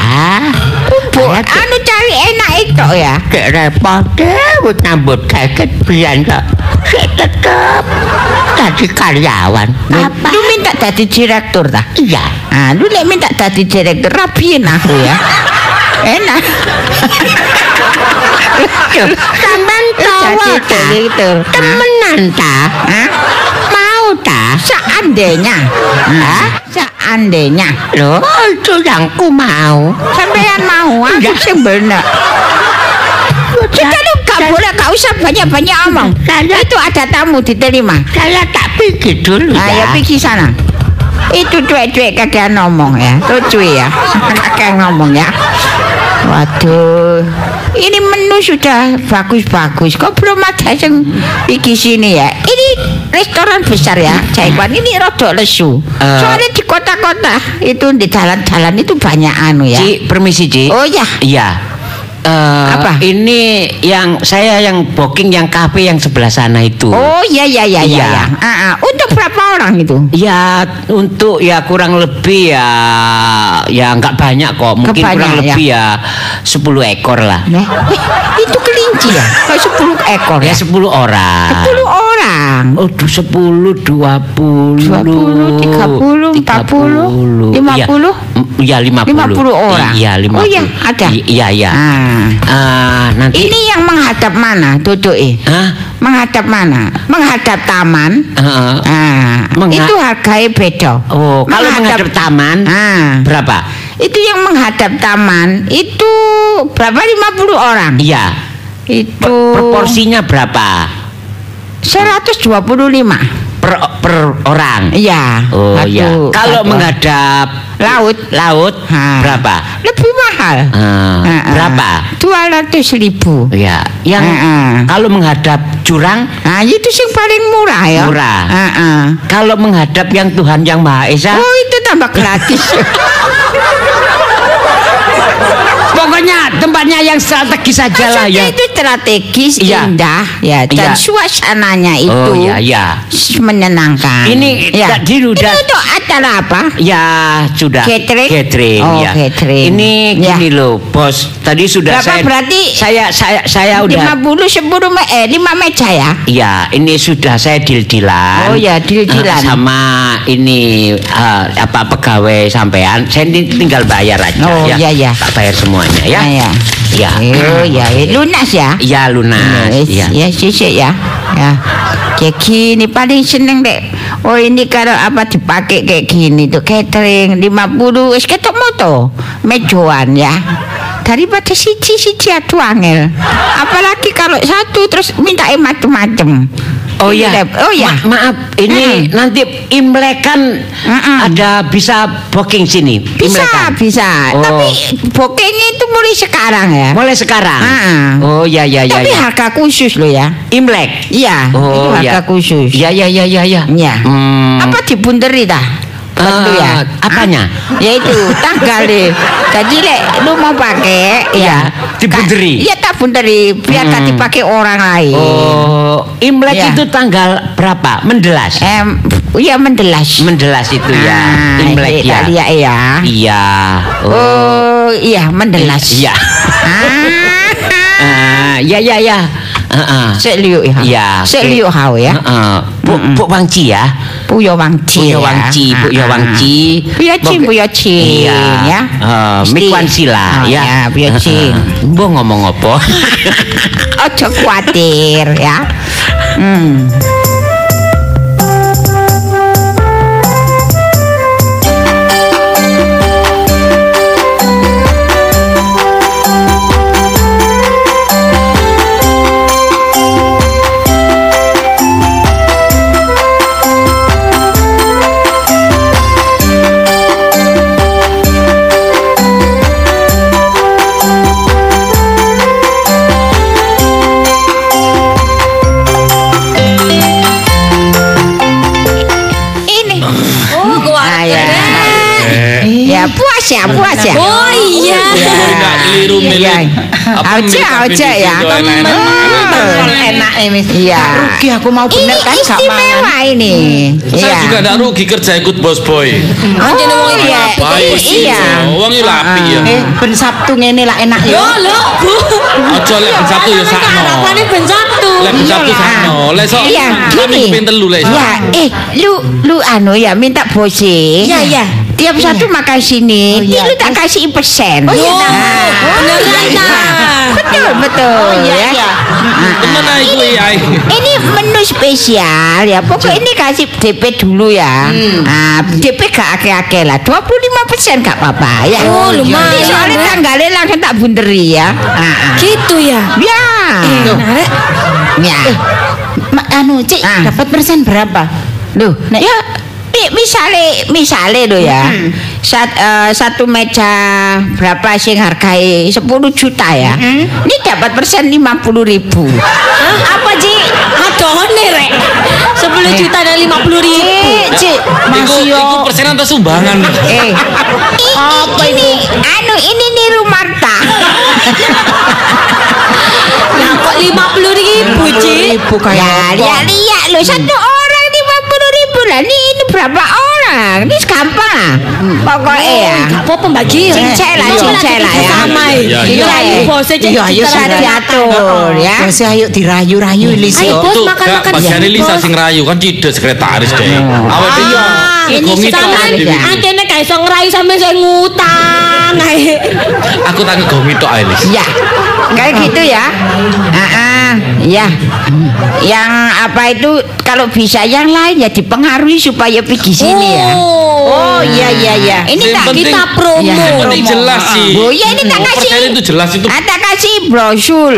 S4: Cari enak itu ya.
S1: Dek repot deh nyambut kaget biar saya tetap jadi karyawan.
S4: Lu minta jadi direktur tak?
S1: Iya.
S4: Lu minta jadi direktur, rapiin aku ya. Enak.
S1: Sampai tahu
S4: direktur.
S1: Temenan tak? Mau tak?
S4: Seandainya. Seandainya.
S1: Loh, itu yang ku mau.
S4: Sampean mau? Aku sih bener. Kita lu gak usah banyak-banyak omong. Itu ada tamu diterima.
S1: Saya tak pergi dulu ya.
S4: Ayo pergi sana. Itu cuek-cuek kagak ngomong ya. Lucu ya. Kagak ngomong ya. Waduh, ini menu sudah bagus-bagus. Kok belum ada yang pergi sini ya? Ini restoran besar ya, Caikwan. Ini rodok lesu. Soalnya di kota-kota itu di jalan-jalan itu banyak anu ya.
S1: Ci, permisi Ci.
S4: Oh ya.
S1: Iya.
S4: Apa?
S1: Ini saya yang booking yang kafe yang sebelah sana itu.
S4: Oh iya.
S1: Iya.
S4: Untuk berapa orang itu?
S1: Ya untuk ya kurang lebih ya nggak banyak kok. Mungkin kurang lebih ya 10 ekor lah.
S4: Nah, itu kelinci ya? Kok 10 ekor
S1: Ya
S4: ya?
S1: 10 orang.
S4: 10 orang.
S1: Oh, 10, 20,
S4: 20, 30, 40, 50?
S1: Iya, 50.
S4: 50 orang.
S1: Iya, 50.
S4: Oh iya, ada.
S1: Iya. Nanti
S4: Ini yang menghadap mana, Dodoke?
S1: Hah?
S4: Menghadap mana? Menghadap taman. Itu harganya beda.
S1: Oh, kalau menghadap taman berapa?
S4: Itu yang menghadap taman itu berapa? 50 orang.
S1: Iya.
S4: Itu
S1: Proporsinya berapa?
S4: 125.
S1: Per orang.
S4: Iya.
S1: Oh iya. Kalau menghadap laut berapa?
S4: Lebih mahal.
S1: Berapa?
S4: 200.000.
S1: Ya, yang kalau menghadap jurang,
S4: Itu yang paling murah ya.
S1: Murah. Kalau menghadap yang Tuhan yang Maha Esa,
S4: Oh, itu tambah gratis.
S1: pokoknya tempatnya yang strategis saja lah ya.
S4: Itu strategis,
S1: Iya.
S4: indah ya, dan
S1: Iya.
S4: suasananya itu
S1: Oh iya.
S4: menyenangkan.
S1: Ini
S4: ya.
S1: tadi
S4: Ini
S1: udah
S4: untuk acara apa?
S1: ya sudah
S4: Catering? Oh,
S1: ya.
S4: catering.
S1: Ini
S4: Ya.
S1: gini loh, Bos. Tadi sudah
S4: Berapa berarti?
S1: saya udah
S4: 50, 10, 5 meja ya?
S1: Iya, ini sudah saya deal-dealan.
S4: Oh ya, deal-dealan.
S1: Sama ini pegawai sampean. Saya tinggal bayar aja
S4: Oh,
S1: ya.
S4: iya.
S1: Tak bayar semuanya ya.
S4: Ya.
S1: Ya.
S4: Oh ya, lunas ya?
S1: Ya lunas.
S4: Ya, sisik ya. Ya. Kayak gini paling seneng dek. Oh ini kalau apa dipakai kayak gini tuh catering 50 wis ketok moto mejoan ya. Daripada siji aduh angel. Apalagi kalau satu terus minta macem-macem.
S1: Oh ya.
S4: Oh ya.
S1: Maaf, ini nanti Imlek kan ada bisa booking sini. Imlekan.
S4: Bisa.
S1: Oh.
S4: Tapi bookingnya itu mulai sekarang ya.
S1: Mulai sekarang. Oh ya.
S4: Tapi harga khusus loh ya.
S1: Imlek.
S4: Iya,
S1: Oh
S4: itu harga khusus.
S1: Ya.
S4: Ya. Apa dibunderi dah? Tentu ya.
S1: Apanya?
S4: Yaitu tanggal deh. Jadi lek lu mau pakai ya
S1: dibunderi.
S4: Iya tak bunderi biar tak dipakai orang lain.
S1: Oh, Imlek
S4: Ya.
S1: itu tanggal berapa? Mendelas.
S4: Iya mendelas.
S1: Mendelas itu ya. Imlek ya.
S4: Iya ya.
S1: Iya.
S4: Oh iya mendelas.
S1: Iya. Ya.
S4: Sek liuk ya.
S1: Iya.
S4: Sek liuk hau ya.
S1: Bu Wangci ya.
S4: Puyo Wangci.
S1: Puyo Wangci.
S4: Puyo Cing ya.
S1: Mikwan Sila ya.
S4: Puyo Cing.
S1: Mbok ngomong apa?
S4: Ojo khawatir ya. Ya puas ya.
S2: Oh iya.
S3: Enggak keliru milih.
S4: Aja ya. Enak ini. Iya. Rugi aku mau bener kan gak istimewa ini.
S3: Saya juga enggak rugi kerja ikut Bos Boy.
S2: Anjene wong iki
S4: iya.
S3: Baik sih. Wong iki lapi ya.
S4: Ben Sabtu ngene lah enak ya.
S2: Yo lho, Bu.
S3: Ojo lek ben Sabtu ya sakno.
S2: Harapannya ben Sabtu.
S3: Lek ben Sabtu sakno. Lek sok
S4: Iya,
S3: kami
S4: gini.
S3: pengen telu lek.
S4: Ya, lu anu ya minta bose.
S2: Iya.
S4: Tiap satu makan sini, lu tak kasih persen.
S2: Oh iya.
S4: Nah.
S2: Beneran ta.
S4: Betul ya.
S3: Temen ae kuwi ae.
S4: Ini menu spesial ya. Pokoknya ini kasih DP dulu ya. DP gak akeh-akeh lah. 25% gak apa-apa ya.
S2: Oh, lumayan,
S4: Ini soalnya
S2: Mbak.
S4: tanggalnya langsung tak bunderi ya.
S2: Gitu ya.
S4: Ya.
S2: Narek.
S4: Ya.
S5: Anu Cik dapat persen berapa?
S4: Loh, ya misale lo ya. Satu meja berapa sih hargai 10 juta ya. Ini dapat persen 50.000.
S2: Apa, Ci? Adone rek. 10 juta dan 50.000.
S4: Cik, masih
S3: Iku
S4: yo.
S3: persen atau sumbangan?
S4: Apa ini? Anu ini niru Marta. ribu kayak lihat lo satu orang 50.000 lah. Ini berapa orang? Ini gampang lah. Pokoknya ya.
S2: Gak apa-apa Mbak Gi.
S4: Cincek lah ya.
S2: Sama
S4: Iya.
S2: Bosnya
S4: Iya sudah diatur ya. Bos ayo dirayu-rayu Lis.
S2: Ayo bos
S3: Tuh,
S2: makan-makan.
S3: bagian Lisa sing rayu kan tidak sekretaris deh. Awak dhewe
S4: Ini
S2: Sampeyan antene gak iso ngerayu sampeyan saya ngutang ae.
S3: aku tangi gomito ae Lis.
S4: Ya, kayak gitu ya. Ya. Yang apa itu kalau bisa yang lain ya dipengaruhi supaya pergi sini ya. Oh iya. Ini
S3: Yang
S4: tak
S3: penting-
S2: Kita promo.
S3: Yang penting jelas sih.
S4: Oh iya ini tak kasih.
S3: Persen itu jelas itu.
S4: Tak kasih brosur.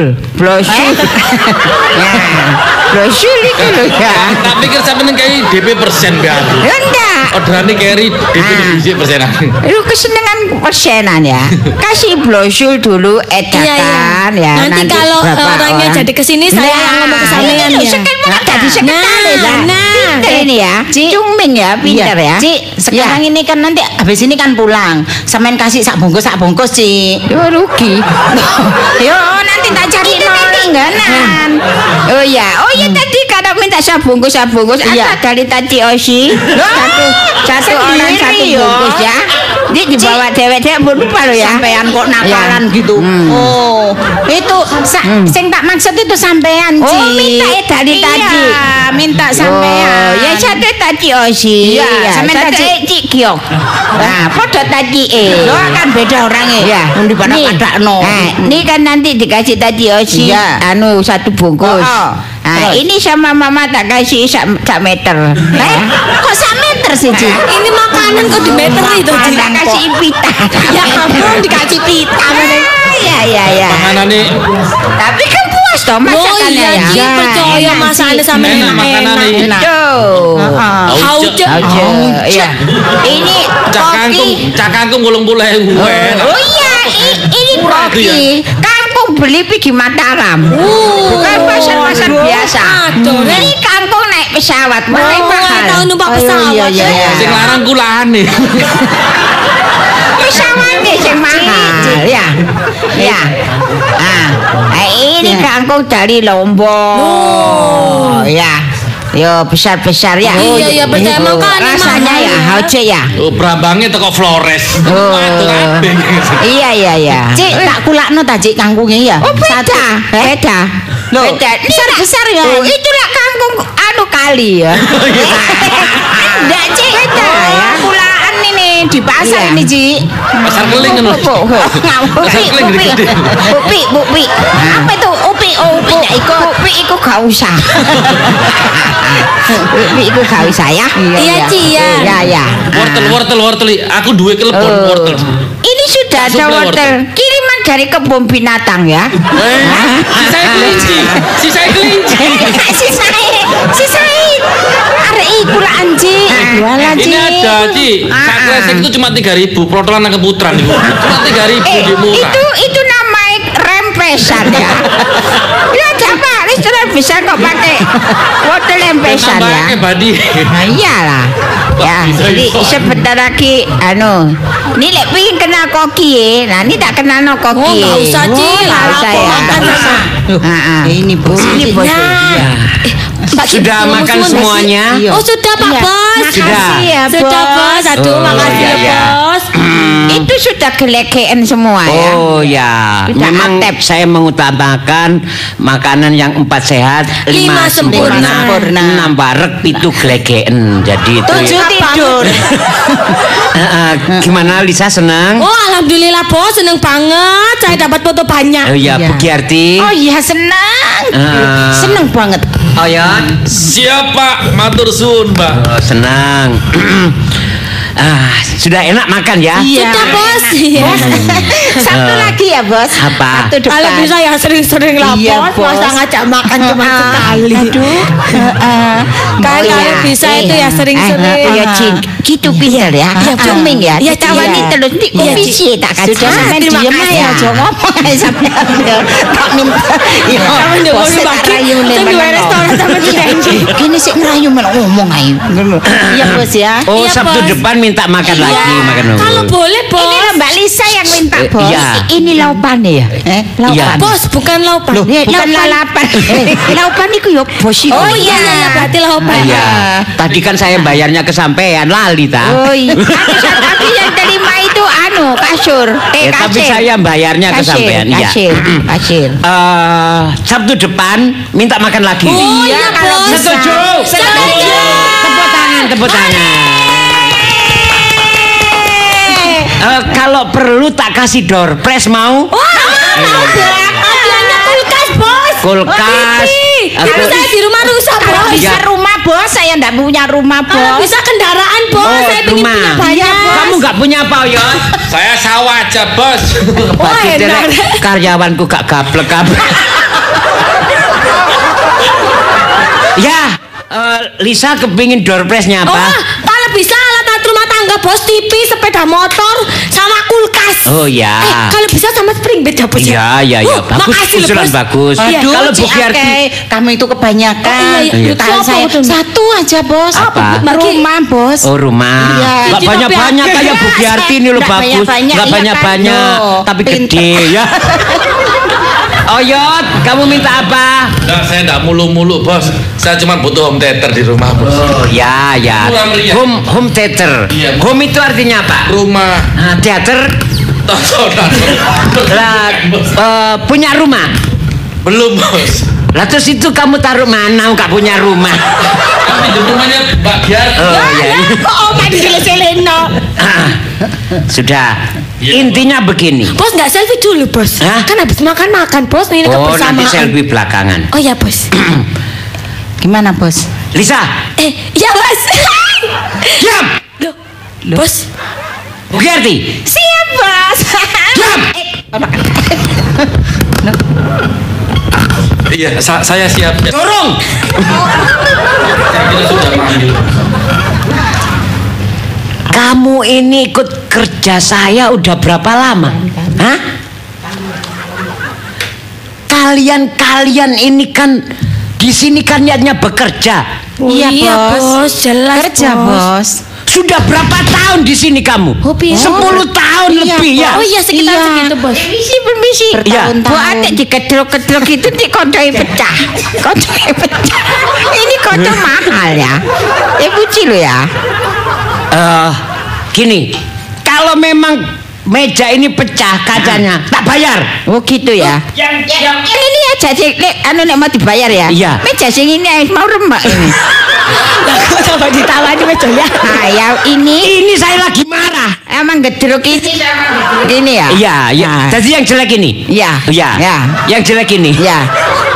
S4: Ya. Brosur itu loh ya.
S3: Tak pikir sampeyan kayak DP persen be aku.
S4: Ya enggak.
S3: Orderane carry DP divisi persenan.
S4: Lu kesenangan persenan ya. Kasih brosur dulu edakan ya.
S2: Nanti kalau
S4: berapa
S2: orangnya
S4: orang.
S2: jadi kesini saya yang ngomong ke sampean
S4: ini
S2: ya.
S4: sekarang jadi sekretaris
S2: Nah,
S4: pinter ini ya. Cungming ya, pinter ya.
S5: Cik, sekarang ini kan nanti habis ini kan pulang. Sampean kasih sak bungkus, Cik.
S4: Yo rugi. Yo nanti tak cari tinggalan. Oh ya tadi kalau minta sabungkus
S5: Iya.
S4: ada dari tadi Osi. Satu orang satu bungkus ya. Ini dibawa dewek-dewek lupa lo ya.
S5: Sampean kok nakalan gitu. Oh, itu sing tak maksud itu sampean, Cik.
S4: Oh minta ya dari tadi.
S5: Iya, minta sampean.
S4: Oh, ya satu tadi Osi.
S5: Iya, sampean
S4: satu
S5: tadi.
S4: Cik Kiok. Nah, podo tadi
S5: Lo kan beda orangnya.
S4: Iya.
S5: Di pada
S4: Nih.
S5: padakno.
S4: Nah, ini kan nanti dikasih tadi Osi.
S5: Iya.
S4: Anu satu bungkus.
S5: Oh,
S4: Nah,
S5: terus?
S4: ini sama mama tak kasih sak meter.
S5: Kok sak meter sih, Cik?
S2: Ini makanan kok di meter itu.
S4: Tak kasih pita.
S2: Ya ampun dikasih pita.
S4: Ya.
S3: Panganane
S4: Tapi kan puas toh
S2: Oh
S4: masakannya
S2: iya
S4: ya.
S2: Ji, percaya masakannya sama
S3: Enak makanannya.
S2: enak-enak.
S4: Tuh.
S2: Hauce.
S4: Iya. Ini
S3: cak kangkung 80.000.
S4: Oh iya, ini
S3: Murah itu ya.
S4: koki. Kangkung beli pergi Mataram. Bukan pasar-pasar biasa.
S2: Aduh,
S4: Ini kangkung naik pesawat, mulai mahal.
S2: tahu numpak pesawat.
S5: iya.
S3: Sing larang kulane.
S4: Pesawatnya sing mahal, ya. Ya. Ini kangkung dari Lombok.
S2: Oh.
S4: Ya. Yo besar-besar ya.
S2: Iya, percaya makan
S4: Rasanya
S2: mahal.
S4: ya hauce ya.
S3: Oh, brambangnya teko Flores.
S4: Oh.
S3: Waduh kabeh.
S4: Iya.
S5: Cik, tak kulakno ta, Cik, kangkungnya ya.
S4: Oh beda.
S5: Loh,
S4: Beda. Ini
S5: besar-besar ya.
S4: Oh, itulah kangkung anu kali ya. Enggak, Cik. Beda ya.
S5: Kulaan ini di pasar
S4: Iya.
S5: ini, Cik.
S3: Pasar keling kan. Pasar keling gede-gede.
S4: Upi. Apa itu upi? Oh, upi iku gak usah. Upi iku gak usah ya.
S2: Iya Ci ya.
S4: Ya.
S3: Wortel. Aku duwe kelepon wortel.
S4: Ini sudah ada
S3: Sudah
S4: wortel. Kiriman dari kebun binatang ya.
S3: Si saya kelinci.
S4: Si Said. Arek iku lah anjing.
S5: Jualan,
S3: Ini
S5: Cik.
S3: ada, Ci. Sak kresek itu cuma 3.000, protolan nang keputran itu. Cuma 3.000 di murah.
S4: Itu namanya rempesan ya. Ya apa? Restoran bisa kok pakai wortel rempesan ya.
S3: Tambahnya badi.
S4: Nah iyalah. Ya,
S3: Bisa,
S4: jadi
S3: bisa.
S4: sebentar lagi ini lek pingin kenal koki. Nah, ini tak kenal no koki.
S2: Oh nggak usah Ci.
S4: Nggak usah ya.
S2: Makan sama.
S4: Ini bos. Ini bos.
S2: Nah. Mbak Ki,
S1: Sudah
S2: ngomong
S1: makan
S2: semua
S1: semuanya?
S2: nggak sih? Oh sudah Pak
S4: Iya.
S2: Bos.
S1: Sudah.
S4: Ya,
S2: Sudah Bos. Aduh
S1: Oh,
S2: makasih
S1: iya,
S2: ya
S1: iya.
S2: Bos.
S4: Itu sudah gelegean semua ya.
S1: Oh ya,
S4: Sudah
S1: memang
S4: atep.
S1: saya mengutamakan makanan yang 4 sehat, 5
S2: Lima sempurna.
S1: sempurna, 6 barek, 7 glegeen. Jadi itu.
S5: 7 tidur.
S1: Gimana Lisa senang?
S2: Oh alhamdulillah Bos seneng banget. Saya dapat foto banyak.
S1: Oh ya,
S5: Iya.
S1: Bu Giarti.
S4: Oh iya senang.
S5: Seneng banget.
S1: Oh ya,
S3: Siapa? Matur suwun, Mbak.
S1: oh, senang. Sudah enak makan ya?
S2: Sudah Bos. Iya.
S4: Satu lagi ya, Bos.
S1: Apa?
S4: Satu depan.
S2: Kalau bisa ya sering-sering lah
S4: Iya,
S2: Bos.
S4: Bos.
S2: Masa ngajak makan cuma sekali. Kan
S4: Oh,
S2: kalau
S4: iya.
S2: bisa itu ya sering-sering.
S4: Ya Cin, gitu pinter ya. Cuming ya.
S2: Iya,
S4: Ditawani
S2: Cin.
S4: terus di
S2: Iya,
S4: komisi tak kasih.
S5: Sudah sampean
S2: terima
S5: diem
S2: kasih.
S5: aja, aja ngomong aja sampean. Tak minta. Iya,
S2: Sama
S5: bos
S2: nyuruh Mbak Ki.
S5: rayu nih,
S2: Saya dua
S5: meneng.
S2: restoran sama janji.
S5: Gini sih ngerayu malah ngomong aja. Iya, Bos ya.
S1: Oh,
S2: Iya,
S1: Sabtu
S2: Bos.
S1: depan minta makan lagi, makan dulu.
S2: Kalau boleh Bos.
S4: Ini loh Mbak Lisa yang minta
S1: Eh,
S4: Bos.
S1: Iya.
S4: Ini laupane ya?
S1: Iya.
S2: Bos, bukan laupan.
S4: Loh, bukan lalapan. Laupan iku ya bos iku.
S2: Oh iya, berarti laupan.
S1: Iya. Tadi kan saya bayarnya ke sampean lali ta.
S4: Oh iya. Tapi yang terima itu kasur.
S1: Tapi saya bayarnya ke sampean. Iya.
S4: Kasir.
S1: Sabtu depan minta makan lagi.
S2: Oh iya,
S4: kalau
S2: Bos.
S1: Setuju.
S2: Setuju.
S1: Tepuk tangan. Kalau perlu tak kasih door prize mau?
S2: Hadiahnya kulkas, Bos.
S1: Kulkas.
S2: Tapi saya di rumah rusak,
S4: Kalau
S2: Bos.
S4: bisa rumah bos, saya enggak punya rumah bos.
S2: Bisa kendaraan, Bos. Saya pengen
S1: rumah.
S2: punya banyak.
S1: Kamu nggak punya apa, Yon?
S3: Saya sawah aja, Bos.
S2: Wah, enak.
S1: Karyawanku gak gablek-gablek. Ya, Lisa kepingin door prize-nya
S2: Oh,
S1: apa?
S2: kalau bisa alat rumah tangga, Bos, TV, sepeda motor, sama kulkas.
S1: Oh ya.
S2: Kalau bisa sama spring bed ya, Bos.
S1: Iya, bagus,
S2: makasih loh,
S1: usulan
S2: Bos.
S1: bagus.
S2: Iya.
S4: Aduh,
S1: Kalau Bu
S4: Cik
S1: Giarti,
S4: Akei, kamu itu kebanyakan.
S2: Oh, iya.
S4: Tahan
S2: Apa
S4: saya
S2: betul?
S4: satu aja bos.
S1: Apa?
S4: Rumah bos.
S1: oh rumah,
S4: Iya.
S1: nggak
S4: Cik
S1: banyak-banyak
S4: Akei.
S1: kayak Bu Giarti ini loh,
S4: Nggak
S1: bagus,
S4: banyak-banyak,
S1: nggak
S4: iya kan?
S1: banyak-banyak,
S4: Loh,
S1: tapi
S4: pinter.
S1: gede ya. Oh Yot, kamu minta apa?
S3: Enggak, saya enggak mulu-mulu, Bos. Saya cuma butuh home theater di rumah, Bos.
S1: Oh ya.
S3: Murah meriah.
S1: Home theater.
S3: Iya.
S1: Home itu artinya apa?
S3: Rumah.
S1: Theater. Lah, punya rumah.
S3: Belum, Bos.
S1: Lah terus itu kamu taruh mana? Nggak punya rumah.
S3: Tapi di rumahnya Mbak Giarti.
S1: Oh iya.
S4: Oh, main seleno.
S1: Sudah.
S3: Iya,
S1: Intinya begini.
S2: Bos, nggak selfie dulu, Bos.
S1: Hah?
S2: Kan habis makan, Bos. Ini
S1: Oh,
S2: kebersamaan.
S1: nanti selfie belakangan.
S2: Oh ya, Bos.
S4: Gimana bos?
S1: Lisa,
S2: Ya, Bos.
S1: diam.
S2: Loh, Bos.
S1: Bu Giarti,
S4: Siap bos.
S1: diam.
S3: Iya, saya siap.
S1: Dorong.
S3: Kita sudah panggil.
S1: Kamu ini ikut kerja saya udah berapa lama? Hah? Kalian ini kan di sini kan niatnya bekerja.
S2: Iya, Bos. Jelas,
S4: Kerja bos.
S1: Sudah berapa tahun di sini kamu?
S2: Hobi.
S1: 10 tahun lebih ya.
S2: Oh iya, sekitar segitu, Bos.
S4: Permisi.
S1: Iya.
S4: Bu Ate dikedrok-kedrok itu di kodoi pecah. Kodoi pecah. Ini kode mahal ya. Puji lo ya.
S1: Gini, kalau memang meja ini pecah kacanya, tak bayar.
S4: Oh gitu ya. Yang ini aja sih, nek mau dibayar ya.
S1: Iya.
S4: Meja sing ini mau rembak ini.
S2: Kok sampai ditawani mejanya?
S4: Nah, ya ini
S1: Ini saya lagi marah.
S4: emang gedruk ini sama gedruk ini ya.
S1: Iya.
S4: Nah,
S1: Jadi yang jelek ini.
S4: Iya.
S1: Iya.
S4: Ya.
S1: Yang jelek ini.
S4: Ya.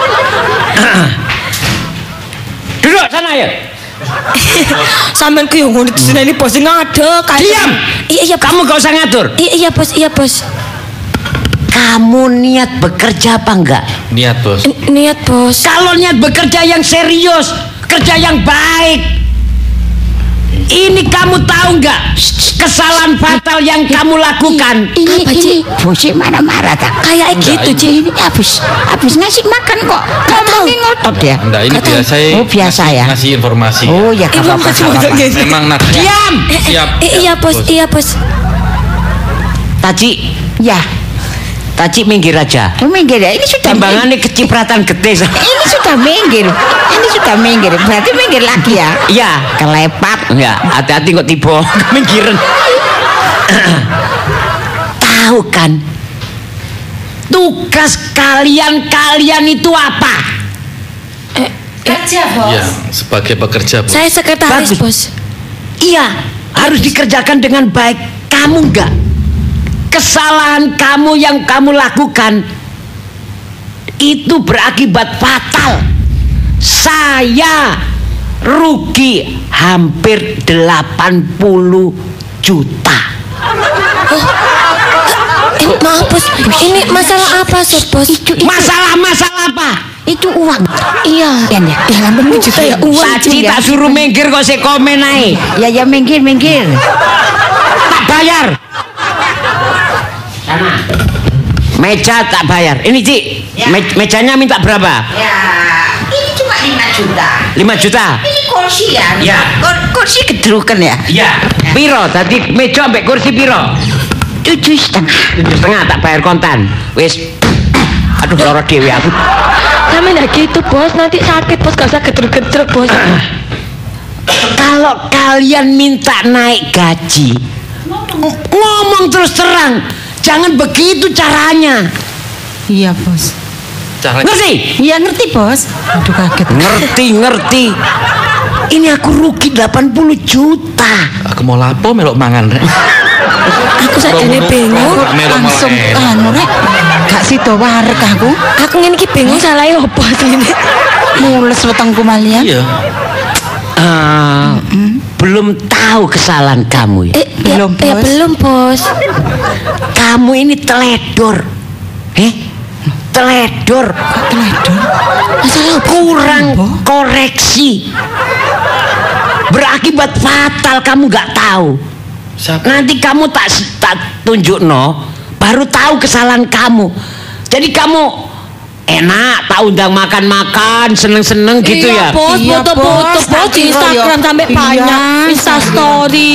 S1: Duduk sana ya.
S2: Sampean ku yang ngono disini Bos ngadeg kayak.
S1: Diam.
S2: Iya, Bos.
S1: Kamu gak usah ngatur.
S2: Iya, Bos.
S1: Kamu niat bekerja apa enggak?
S3: Niat, Bos.
S2: Niat, Bos.
S1: Kalau niat bekerja yang serius, kerja yang baik. Ini kamu tahu nggak kesalahan fatal yang kamu lakukan?
S4: Ini
S2: Apa, Cik?
S4: bosnya marah-marah tak?
S2: Kayak gitu, Cik.
S4: Ini habis ngasih makan kok. Ngomongin ngotot ya.
S3: Enggak, ini biasa.
S4: Oh, biasa ya.
S3: Ngasih informasi.
S4: Oh ya gak apa-apa. gak apa-apa.
S3: Memang nadanya.
S1: Diam.
S3: Siap.
S2: Iya, Bos.
S1: Taci,
S4: Ya.
S1: Taci minggir aja.
S4: Oh, minggir ya. Ini sudah
S1: Timbangannya kecipratan gede.
S4: Ini sudah minggir. Berarti minggir lagi ya.
S1: Iya.
S4: Kelepat.
S1: Enggak, hati-hati kok tiba minggiran. Tahu kan? Tugas kalian itu apa?
S4: Kerja
S3: Iya, sebagai pekerja, Bos.
S2: Saya sekretaris,
S1: Bagus.
S2: Bos.
S1: Iya, harus dikerjakan dengan baik. Kamu enggak. Kesalahan kamu yang kamu lakukan itu berakibat fatal. Saya rugi hampir 80 juta.
S2: Maaf, Bos. Ini masalah apa, Bos?
S1: Masalah apa?
S4: Itu uang.
S2: Iya.
S4: Ya,
S2: 80 juta ya uang.
S1: Saji tak suruh minggir kok saya komen aja.
S4: Ya minggir.
S1: Tak bayar. Sana. Meja tak bayar. Ini Ci, mejanya minta berapa?
S4: Ya, ini cuma 5 juta.
S1: 5 juta.
S4: Ini kursi ya.
S1: Ya.
S4: Kursi gedrukan ya.
S1: Iya. Piro? Tadi meja sampai kursi piro? 7,5. 7,5 tak bayar kontan. Wis. Aduh loro dhewe aku.
S2: Sampe ndak gitu, Bos. Nanti sakit, Bos. Gak usah gedruk-gedruk, Bos.
S1: Kalau kalian minta naik gaji, ngomong terus terang. Jangan begitu caranya.
S4: Iya, Bos.
S3: Caranya
S1: Ngerti?
S4: Iya ngerti, Bos. Aduh kaget.
S1: Ngerti. Ini aku rugi 80 juta.
S3: aku mau lapo melok mangan rek.
S2: Aku sakjane bingung.
S4: Langsung anu rek. Gak sida wareg aku.
S2: Aku ngene iki bingung salahe opo asline.
S4: Mules wetengku malian.
S3: Iya.
S1: Belum tahu kesalahan kamu ya.
S4: Belum,
S2: Ya
S4: Bos.
S2: belum, Bos.
S1: Kamu ini teledor. Teledor.
S2: Masalah opo?
S1: Kurang koreksi. Berakibat fatal kamu gak tahu.
S3: Siapa?
S1: Nanti kamu tak tunjuk baru tahu kesalahan kamu. Jadi kamu enak tak undang makan-makan, seneng-seneng gitu
S2: Iya,
S1: ya.
S2: Bos,
S4: Iya,
S2: foto-foto,
S4: Bos.
S2: Bos, di Instagram sampai
S4: Iya.
S2: banyak Insta story.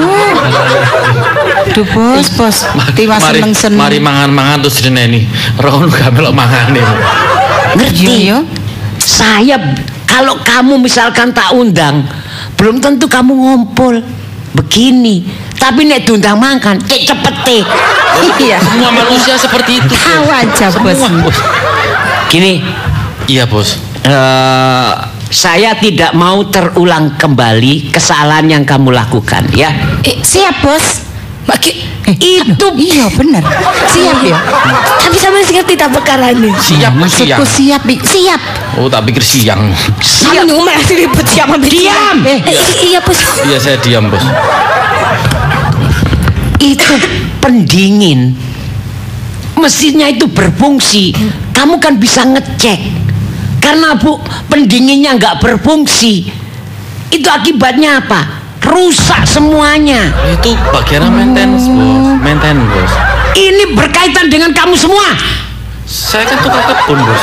S4: Duh, Bos. Tiwas
S3: Mari
S4: seneng-seneng.
S3: mangan-mangan terus dineni. Rono gak melok mangan nih.
S1: Ngerti?
S4: Iya.
S1: Saya kalau kamu misalkan tak undang, belum tentu kamu ngumpul begini. Tapi nek diundang makan, cepet.
S4: Iya.
S3: Semua manusia seperti itu.
S4: Tahu aja, Bos.
S3: Semua, Bos.
S1: Gini,
S3: Iya, Bos.
S1: saya tidak mau terulang kembali kesalahan yang kamu lakukan ya.
S4: Siap, Bos.
S1: Itu
S4: Iya bener. Siap ya.
S2: Tapi sampe ngerti tak perkarane.
S3: Siap, siang.
S4: Maksudku siap, siap.
S3: Oh, tak pikir siang.
S2: Siap nu masih ribet siapa
S1: diam.
S2: Iya, Bos.
S3: Iya, saya diam, Bos.
S1: Itu pendingin. Mesinnya itu berfungsi. Kamu kan bisa ngecek. Karena pendinginnya nggak berfungsi. Itu akibatnya apa? Rusak semuanya.
S3: Itu bagian maintenance, Bos. Maintenance, Bos.
S1: Ini berkaitan dengan kamu semua.
S3: Saya kan tukang kebun, Bos.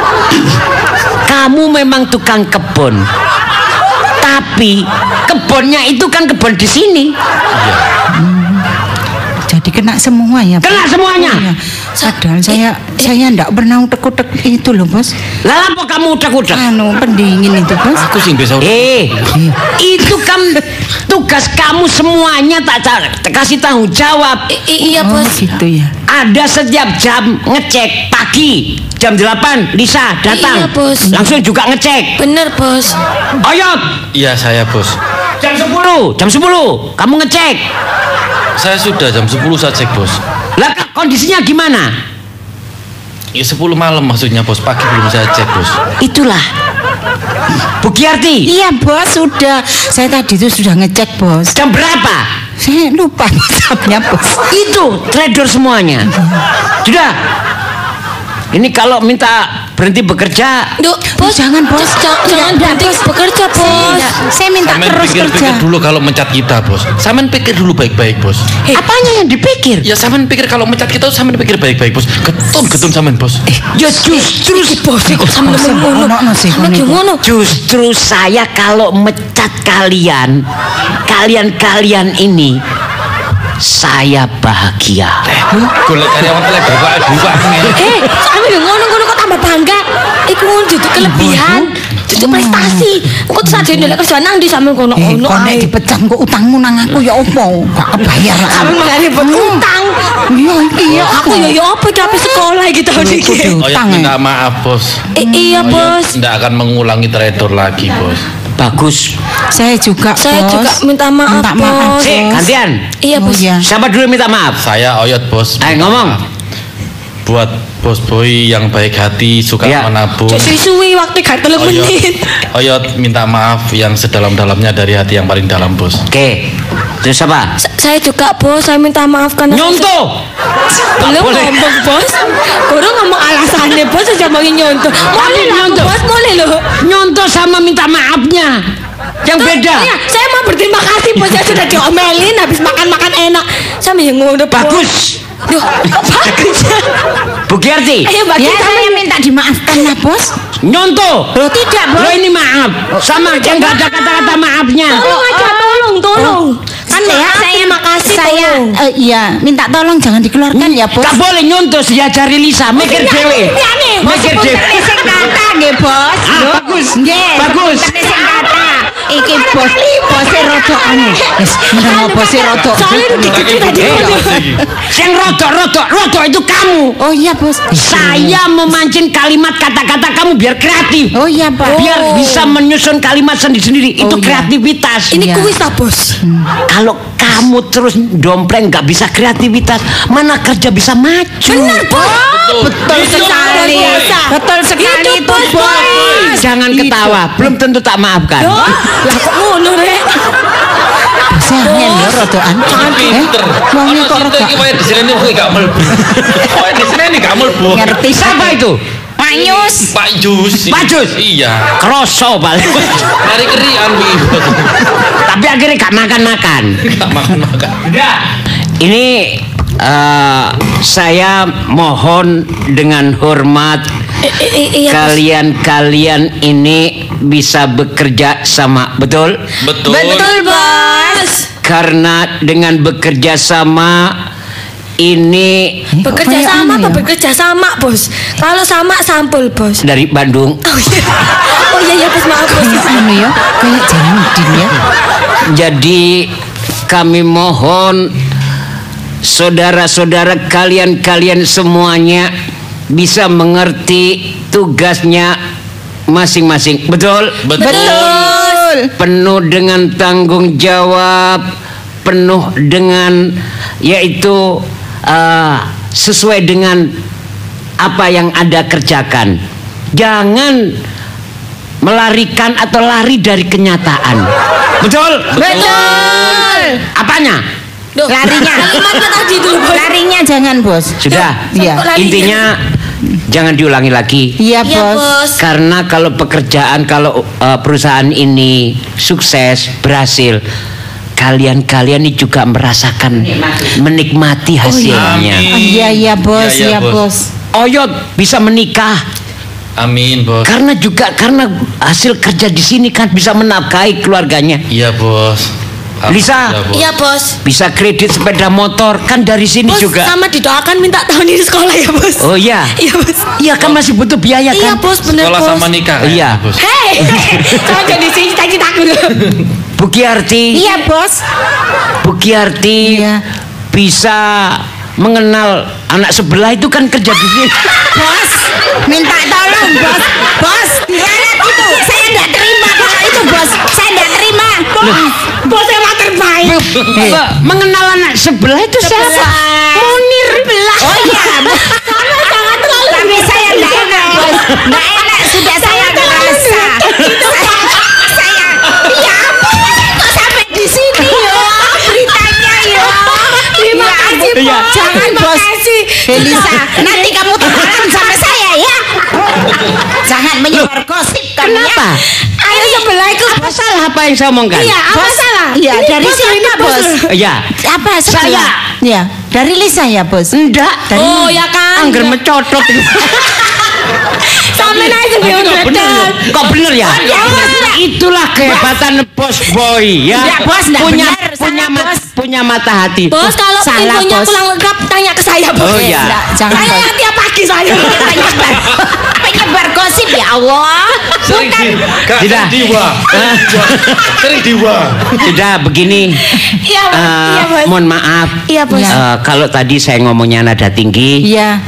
S1: Kamu memang tukang kebun. Tapi kebunnya itu kan kebun di sini.
S3: Iya.
S4: Jadi kena semua ya.
S1: Kena semuanya.
S4: Iya. Padahal saya enggak pernah utek-utek itu loh, Bos.
S1: Lah apa kamu udak-udak?
S4: Anu pendingin itu, Bos.
S3: Aku sih bisa.
S1: Itu kan tugas kamu semuanya tak kasih tanggung jawab.
S2: Iya,
S4: Oh,
S2: Bos.
S4: gitu ya.
S1: Ada setiap jam ngecek. Pagi jam 8 Lisa datang.
S2: Iya, Bos.
S1: Langsung juga ngecek.
S2: Bener, Bos.
S1: Oyot
S3: Iya, saya, Bos.
S1: jam 10 kamu ngecek.
S3: Saya sudah jam 10 saya cek, Bos.
S1: Lah kondisinya gimana?
S3: Ya 10 malam maksudnya, Bos. Pagi belum saya cek, Bos.
S1: Itulah Bu Giarti.
S4: Iya, Bos, sudah. Saya tadi itu sudah ngecek, Bos.
S1: Jam berapa?
S4: Saya lupa jamnya, Bos.
S1: Itu trader semuanya. Sudah. Ini kalau minta berhenti bekerja,
S2: Duh, Bos.
S4: Jangan, Bos.
S2: Jangan berhenti bekerja, Bos.
S4: Saya minta
S3: Samen
S4: terus
S3: pikir-pikir
S4: kerja.
S3: dulu kalau mencat kita, Bos. Samen pikir dulu baik-baik, Bos.
S1: apanya yang dipikir?
S3: Ya samen pikir kalau mencat kita samen pikir baik-baik, Bos. Getun samen, Bos.
S1: Ya justru
S2: Bos, kok sampe ngono.
S4: Ono sih,
S2: Sampe
S4: ono.
S2: ngono.
S1: Justru saya kalau mecat kalian ini, saya bahagia.
S3: Golek karyawan teledor kok dua
S2: Sampe ngono kok tambah bangga. Iku ngono duduk kelebihan. Duduk prestasi. Kok sajane lek kerja nang ndi sampe ngono ono
S4: Kok nek
S2: ae.
S4: dipecat kok utangmu nang aku ya opo? Gak kebayar lah.
S2: Sampe mangane utang.
S4: Iya, iki ya
S2: Aku ya apa tapi sekolah gitu iki.
S3: Oyot minta maaf, Bos.
S2: Iya, Bos.
S3: Tidak akan mengulangi teledor lagi, Bos.
S1: Bagus.
S4: Saya juga,
S2: Saya
S4: Bos.
S2: juga minta maaf,
S4: Minta maaf,
S2: Bos.
S1: Gantian.
S2: Iya,
S4: Oh,
S2: Bos.
S4: iya.
S1: Siapa dulu yang minta maaf?
S3: Saya Oyot, Bos.
S1: Ayo ngomong.
S3: Buat Bos Boy yang baik hati, suka
S1: Iya.
S3: menabung.
S2: Cek suwi waktu gak 3 menit.
S3: Oyot minta maaf yang sedalam-dalamnya dari hati yang paling dalam, Bos.
S1: Oke. Terus apa?
S2: Saya juga, Bos. Saya minta maaf karena
S1: Nyontoh.
S2: belum
S1: Boleh.
S2: ngomong, Bos. Kurang ngomong alasannya, Bos. Saya mau nyontoh. Boleh lah,
S1: nyontoh.
S2: Bos. Boleh loh.
S1: Nyontoh sama minta maafnya. Yang beda.
S2: Iya, saya mau berterima kasih, Bos. Saya sudah diomelin habis makan-makan enak. Sama yang ngono, Bos.
S1: Bagus.
S2: Duh, kok bagus ya?
S1: Bu Giarti.
S2: Ayo,
S4: Ya,
S2: bagus.
S4: saya minta dimaafkan lah, Bos.
S1: Nyontoh.
S4: Loh, tidak, Bos.
S1: Lo ini maaf. Sama yang nggak ada kata-kata maafnya.
S2: Tolong aja, tolong. Kan
S4: Ya,
S2: terima kasih.
S4: saya iya minta tolong jangan dikeluarkan ya bos.
S1: Gak boleh nyuntus ya cari Lisa, mikir dewe. Mikir dewe.
S4: Sing kata nggih bos. Lho,
S1: bagus.
S4: Nggih.
S1: Bagus.
S4: Sing kata. Iki bose rodok anu. Wis ngono bose rodok.
S2: Soalnya dikit tadi.
S1: Yang rodok itu kamu.
S4: Oh iya bos.
S1: Saya memancing kalimat kata-kata kamu biar kreatif.
S4: Oh iya Pak.
S1: Biar bisa menyusun kalimat sendiri-sendiri. Itu
S4: iya.
S1: kreativitas.
S2: Ini
S4: Iya.
S2: kuis lah bos.
S1: Kalau kamu terus dompleng nggak bisa kreativitas, mana kerja bisa maju.
S2: Benar bos.
S4: Betul
S3: Itu
S4: sekali.
S2: luar biasa.
S4: Betul sekali
S2: Itu
S4: itu bos.
S1: Jangan ketawa, belum tentu tak maafkan.
S2: Lah kok ngono rek?
S4: Jangan ya rodokan.
S3: Pinter.
S4: Wong
S3: Ono
S4: kok
S3: cinta
S4: rodok.
S3: iki wae di sini kuwi gak mlebu. Wae di sini gak mlebu.
S4: Ngerti
S1: Siapa itu?
S4: Pak Yus.
S3: Pak Jus.
S1: Pak Jus?
S3: Iya.
S1: Kroso balik.
S3: Mari kerian kuwi.
S1: Tapi akhirnya gak makan-makan.
S3: Gak makan-makan.
S1: Ini saya mohon dengan hormat
S2: Iya.
S1: kalian ini bisa bekerja sama, betul?
S3: Betul.
S2: Betul bos.
S1: Karena dengan bekerja sama ini
S2: Bekerja
S4: kayak
S2: sama
S4: anu
S2: apa
S4: ya?
S2: bekerja sama bos? Kalau sama sampul bos.
S1: dari Bandung.
S2: Oh iya. Oh iya bos maaf bos.
S4: Anu ya, kayak Janudin ya.
S1: Jadi kami mohon saudara-saudara kalian semuanya bisa mengerti tugasnya masing-masing. Betul?
S3: Betul.
S1: Penuh dengan tanggung jawab, penuh dengan yaitu sesuai dengan apa yang Anda kerjakan. Jangan melarikan atau lari dari kenyataan. Betul?
S4: Betul.
S1: Apanya?
S2: Duh,
S4: Larinya.
S2: kalimatnya tadi dulu bos.
S4: Larinya jangan bos.
S1: Sudah.
S4: Iya.
S2: Kok larinya?
S1: Intinya jangan diulangi lagi.
S4: Iya
S2: Iya
S4: bos.
S2: bos.
S1: Karena kalau pekerjaan, kalau perusahaan ini sukses, berhasil, kalian ini juga merasakan menikmati hasilnya.
S3: Amin.
S4: Iya bos,
S3: Iya,
S4: iya
S3: bos.
S4: bos.
S1: Oyot bisa menikah
S3: Amin, Bos.
S1: karena hasil kerja di sini kan bisa menafkahi keluarganya.
S3: Iya, Bos.
S1: Lisa.
S3: Bos.
S2: Iya bos.
S1: Bisa kredit sepeda motor kan dari sini
S2: Bos
S1: juga.
S2: sama didoakan minta tahun ini sekolah ya bos.
S1: Oh iya.
S2: Iya bos.
S1: Iya kan masih butuh biaya
S2: Iya
S1: kan?
S2: bos bener
S3: Sekolah
S2: bos.
S3: sama nikah.
S1: Iya.
S3: Bos.
S2: Hei, jangan jadi cita-citaku dulu.
S1: Bu Kiarti.
S4: Iya bos.
S1: Bu Kiarti
S4: Iya.
S1: bisa mengenal anak sebelah itu kan kerja di sini.
S4: Bos, minta tolong bos. Bos, dianet itu. Saya tidak terima kalau itu bos. Saya tidak terima.
S2: Bos emang terbaik.
S1: Mengenal anak sebelah itu siapa? Munir.
S4: Oh iya.
S2: Jangan terlalu.
S4: Tapi saya tidak enak bos. Tidak enak sudah saya merasa. Saya. Ya ampun, kok sampai di sini yo beritanya yo.
S2: Terima
S4: Ya
S2: kasih
S4: ampun.
S2: bos.
S4: Jangan
S2: Terima
S4: bos.
S2: kasih.
S4: Elisa, nanti kamu tukaran sama saya ya. Jangan menyebar gosip kamu ya.
S1: Kenapa?
S2: Ayo sebelah itu.
S1: Apa salah apa yang saya omongkan?
S2: Iya, apa
S4: Bos,
S2: salah?
S4: Iya,
S2: Ini
S4: dari
S2: bos,
S4: siapa
S2: ini
S4: bos?
S1: Iya.
S4: Apa
S1: Saya.
S4: sebelah? Ya, dari Lisa ya bos.
S1: Enggak.
S2: Oh ya kan.
S1: Angger mencodot.
S2: Sampai naik ke
S3: Tapi kok bener ya?
S1: Kok bener ya?
S4: iya, bener.
S1: Itulah kehebatan bos boy ya.
S4: Enggak, bos, enggak
S1: punya
S4: bener.
S1: punya
S4: Salah, bos.
S1: punya mata hati.
S2: Bos kalau
S4: Salah,
S2: infonya
S4: bos.
S2: pulang lengkap tanya ke saya bos.
S1: Oh, iya.
S4: Enggak, jangan
S2: Saya
S4: bos.
S2: yang tiap pagi saya.
S4: Penyebar gosip ya Allah.
S3: Sering di
S1: Tidak.
S3: diwa. Sering diwa.
S1: Sudah begini.
S2: Iya bos. Iya bos.
S1: Mohon maaf.
S2: Iya bos.
S1: Kalau tadi saya ngomongnya nada tinggi
S4: Iya.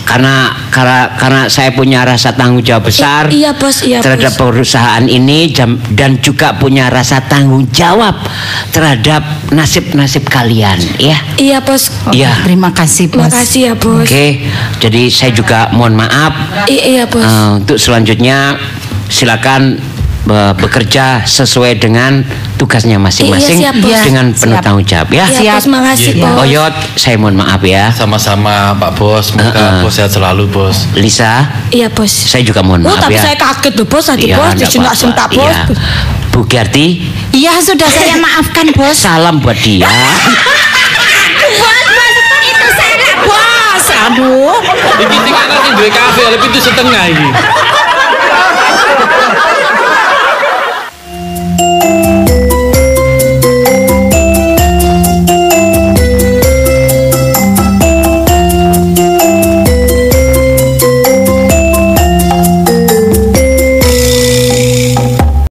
S1: karena saya punya rasa tanggung jawab besar
S2: Iya bos. Iya
S1: terhadap
S2: bos.
S1: perusahaan ini dan juga punya rasa tanggung jawab terhadap nasib-nasib kalian ya.
S2: Iya bos.
S1: Iya.
S4: Terima kasih bos.
S2: Makasih ya bos.
S1: Oke, jadi saya juga mohon maaf.
S2: Iya bos.
S1: Untuk selanjutnya silakan bekerja sesuai dengan tugasnya masing-masing
S2: Iya, siap, bos.
S1: dengan penuh
S4: Siap.
S1: tanggung jawab ya.
S2: Iya bos, makasih
S3: Iya.
S2: bos.
S1: Oyot, saya mohon maaf ya.
S3: Sama-sama Pak Bos. Semoga Bos sehat selalu, Bos.
S1: Lisa,
S2: Iya bos.
S1: saya juga mohon
S2: Oh
S1: maaf
S2: tapi
S1: ya.
S2: saya kaget loh bos tadi
S1: Iya,
S2: bos
S1: nggak
S2: disentak-sentak
S1: apa-apa.
S2: bos.
S1: Iya. Bu Kiarti,
S4: Iya sudah saya maafkan bos.
S1: salam buat dia.
S4: Bos, itu salah bos. Aduh.
S3: Iki sing anak sing duwe kafe, lebih itu setengah iki.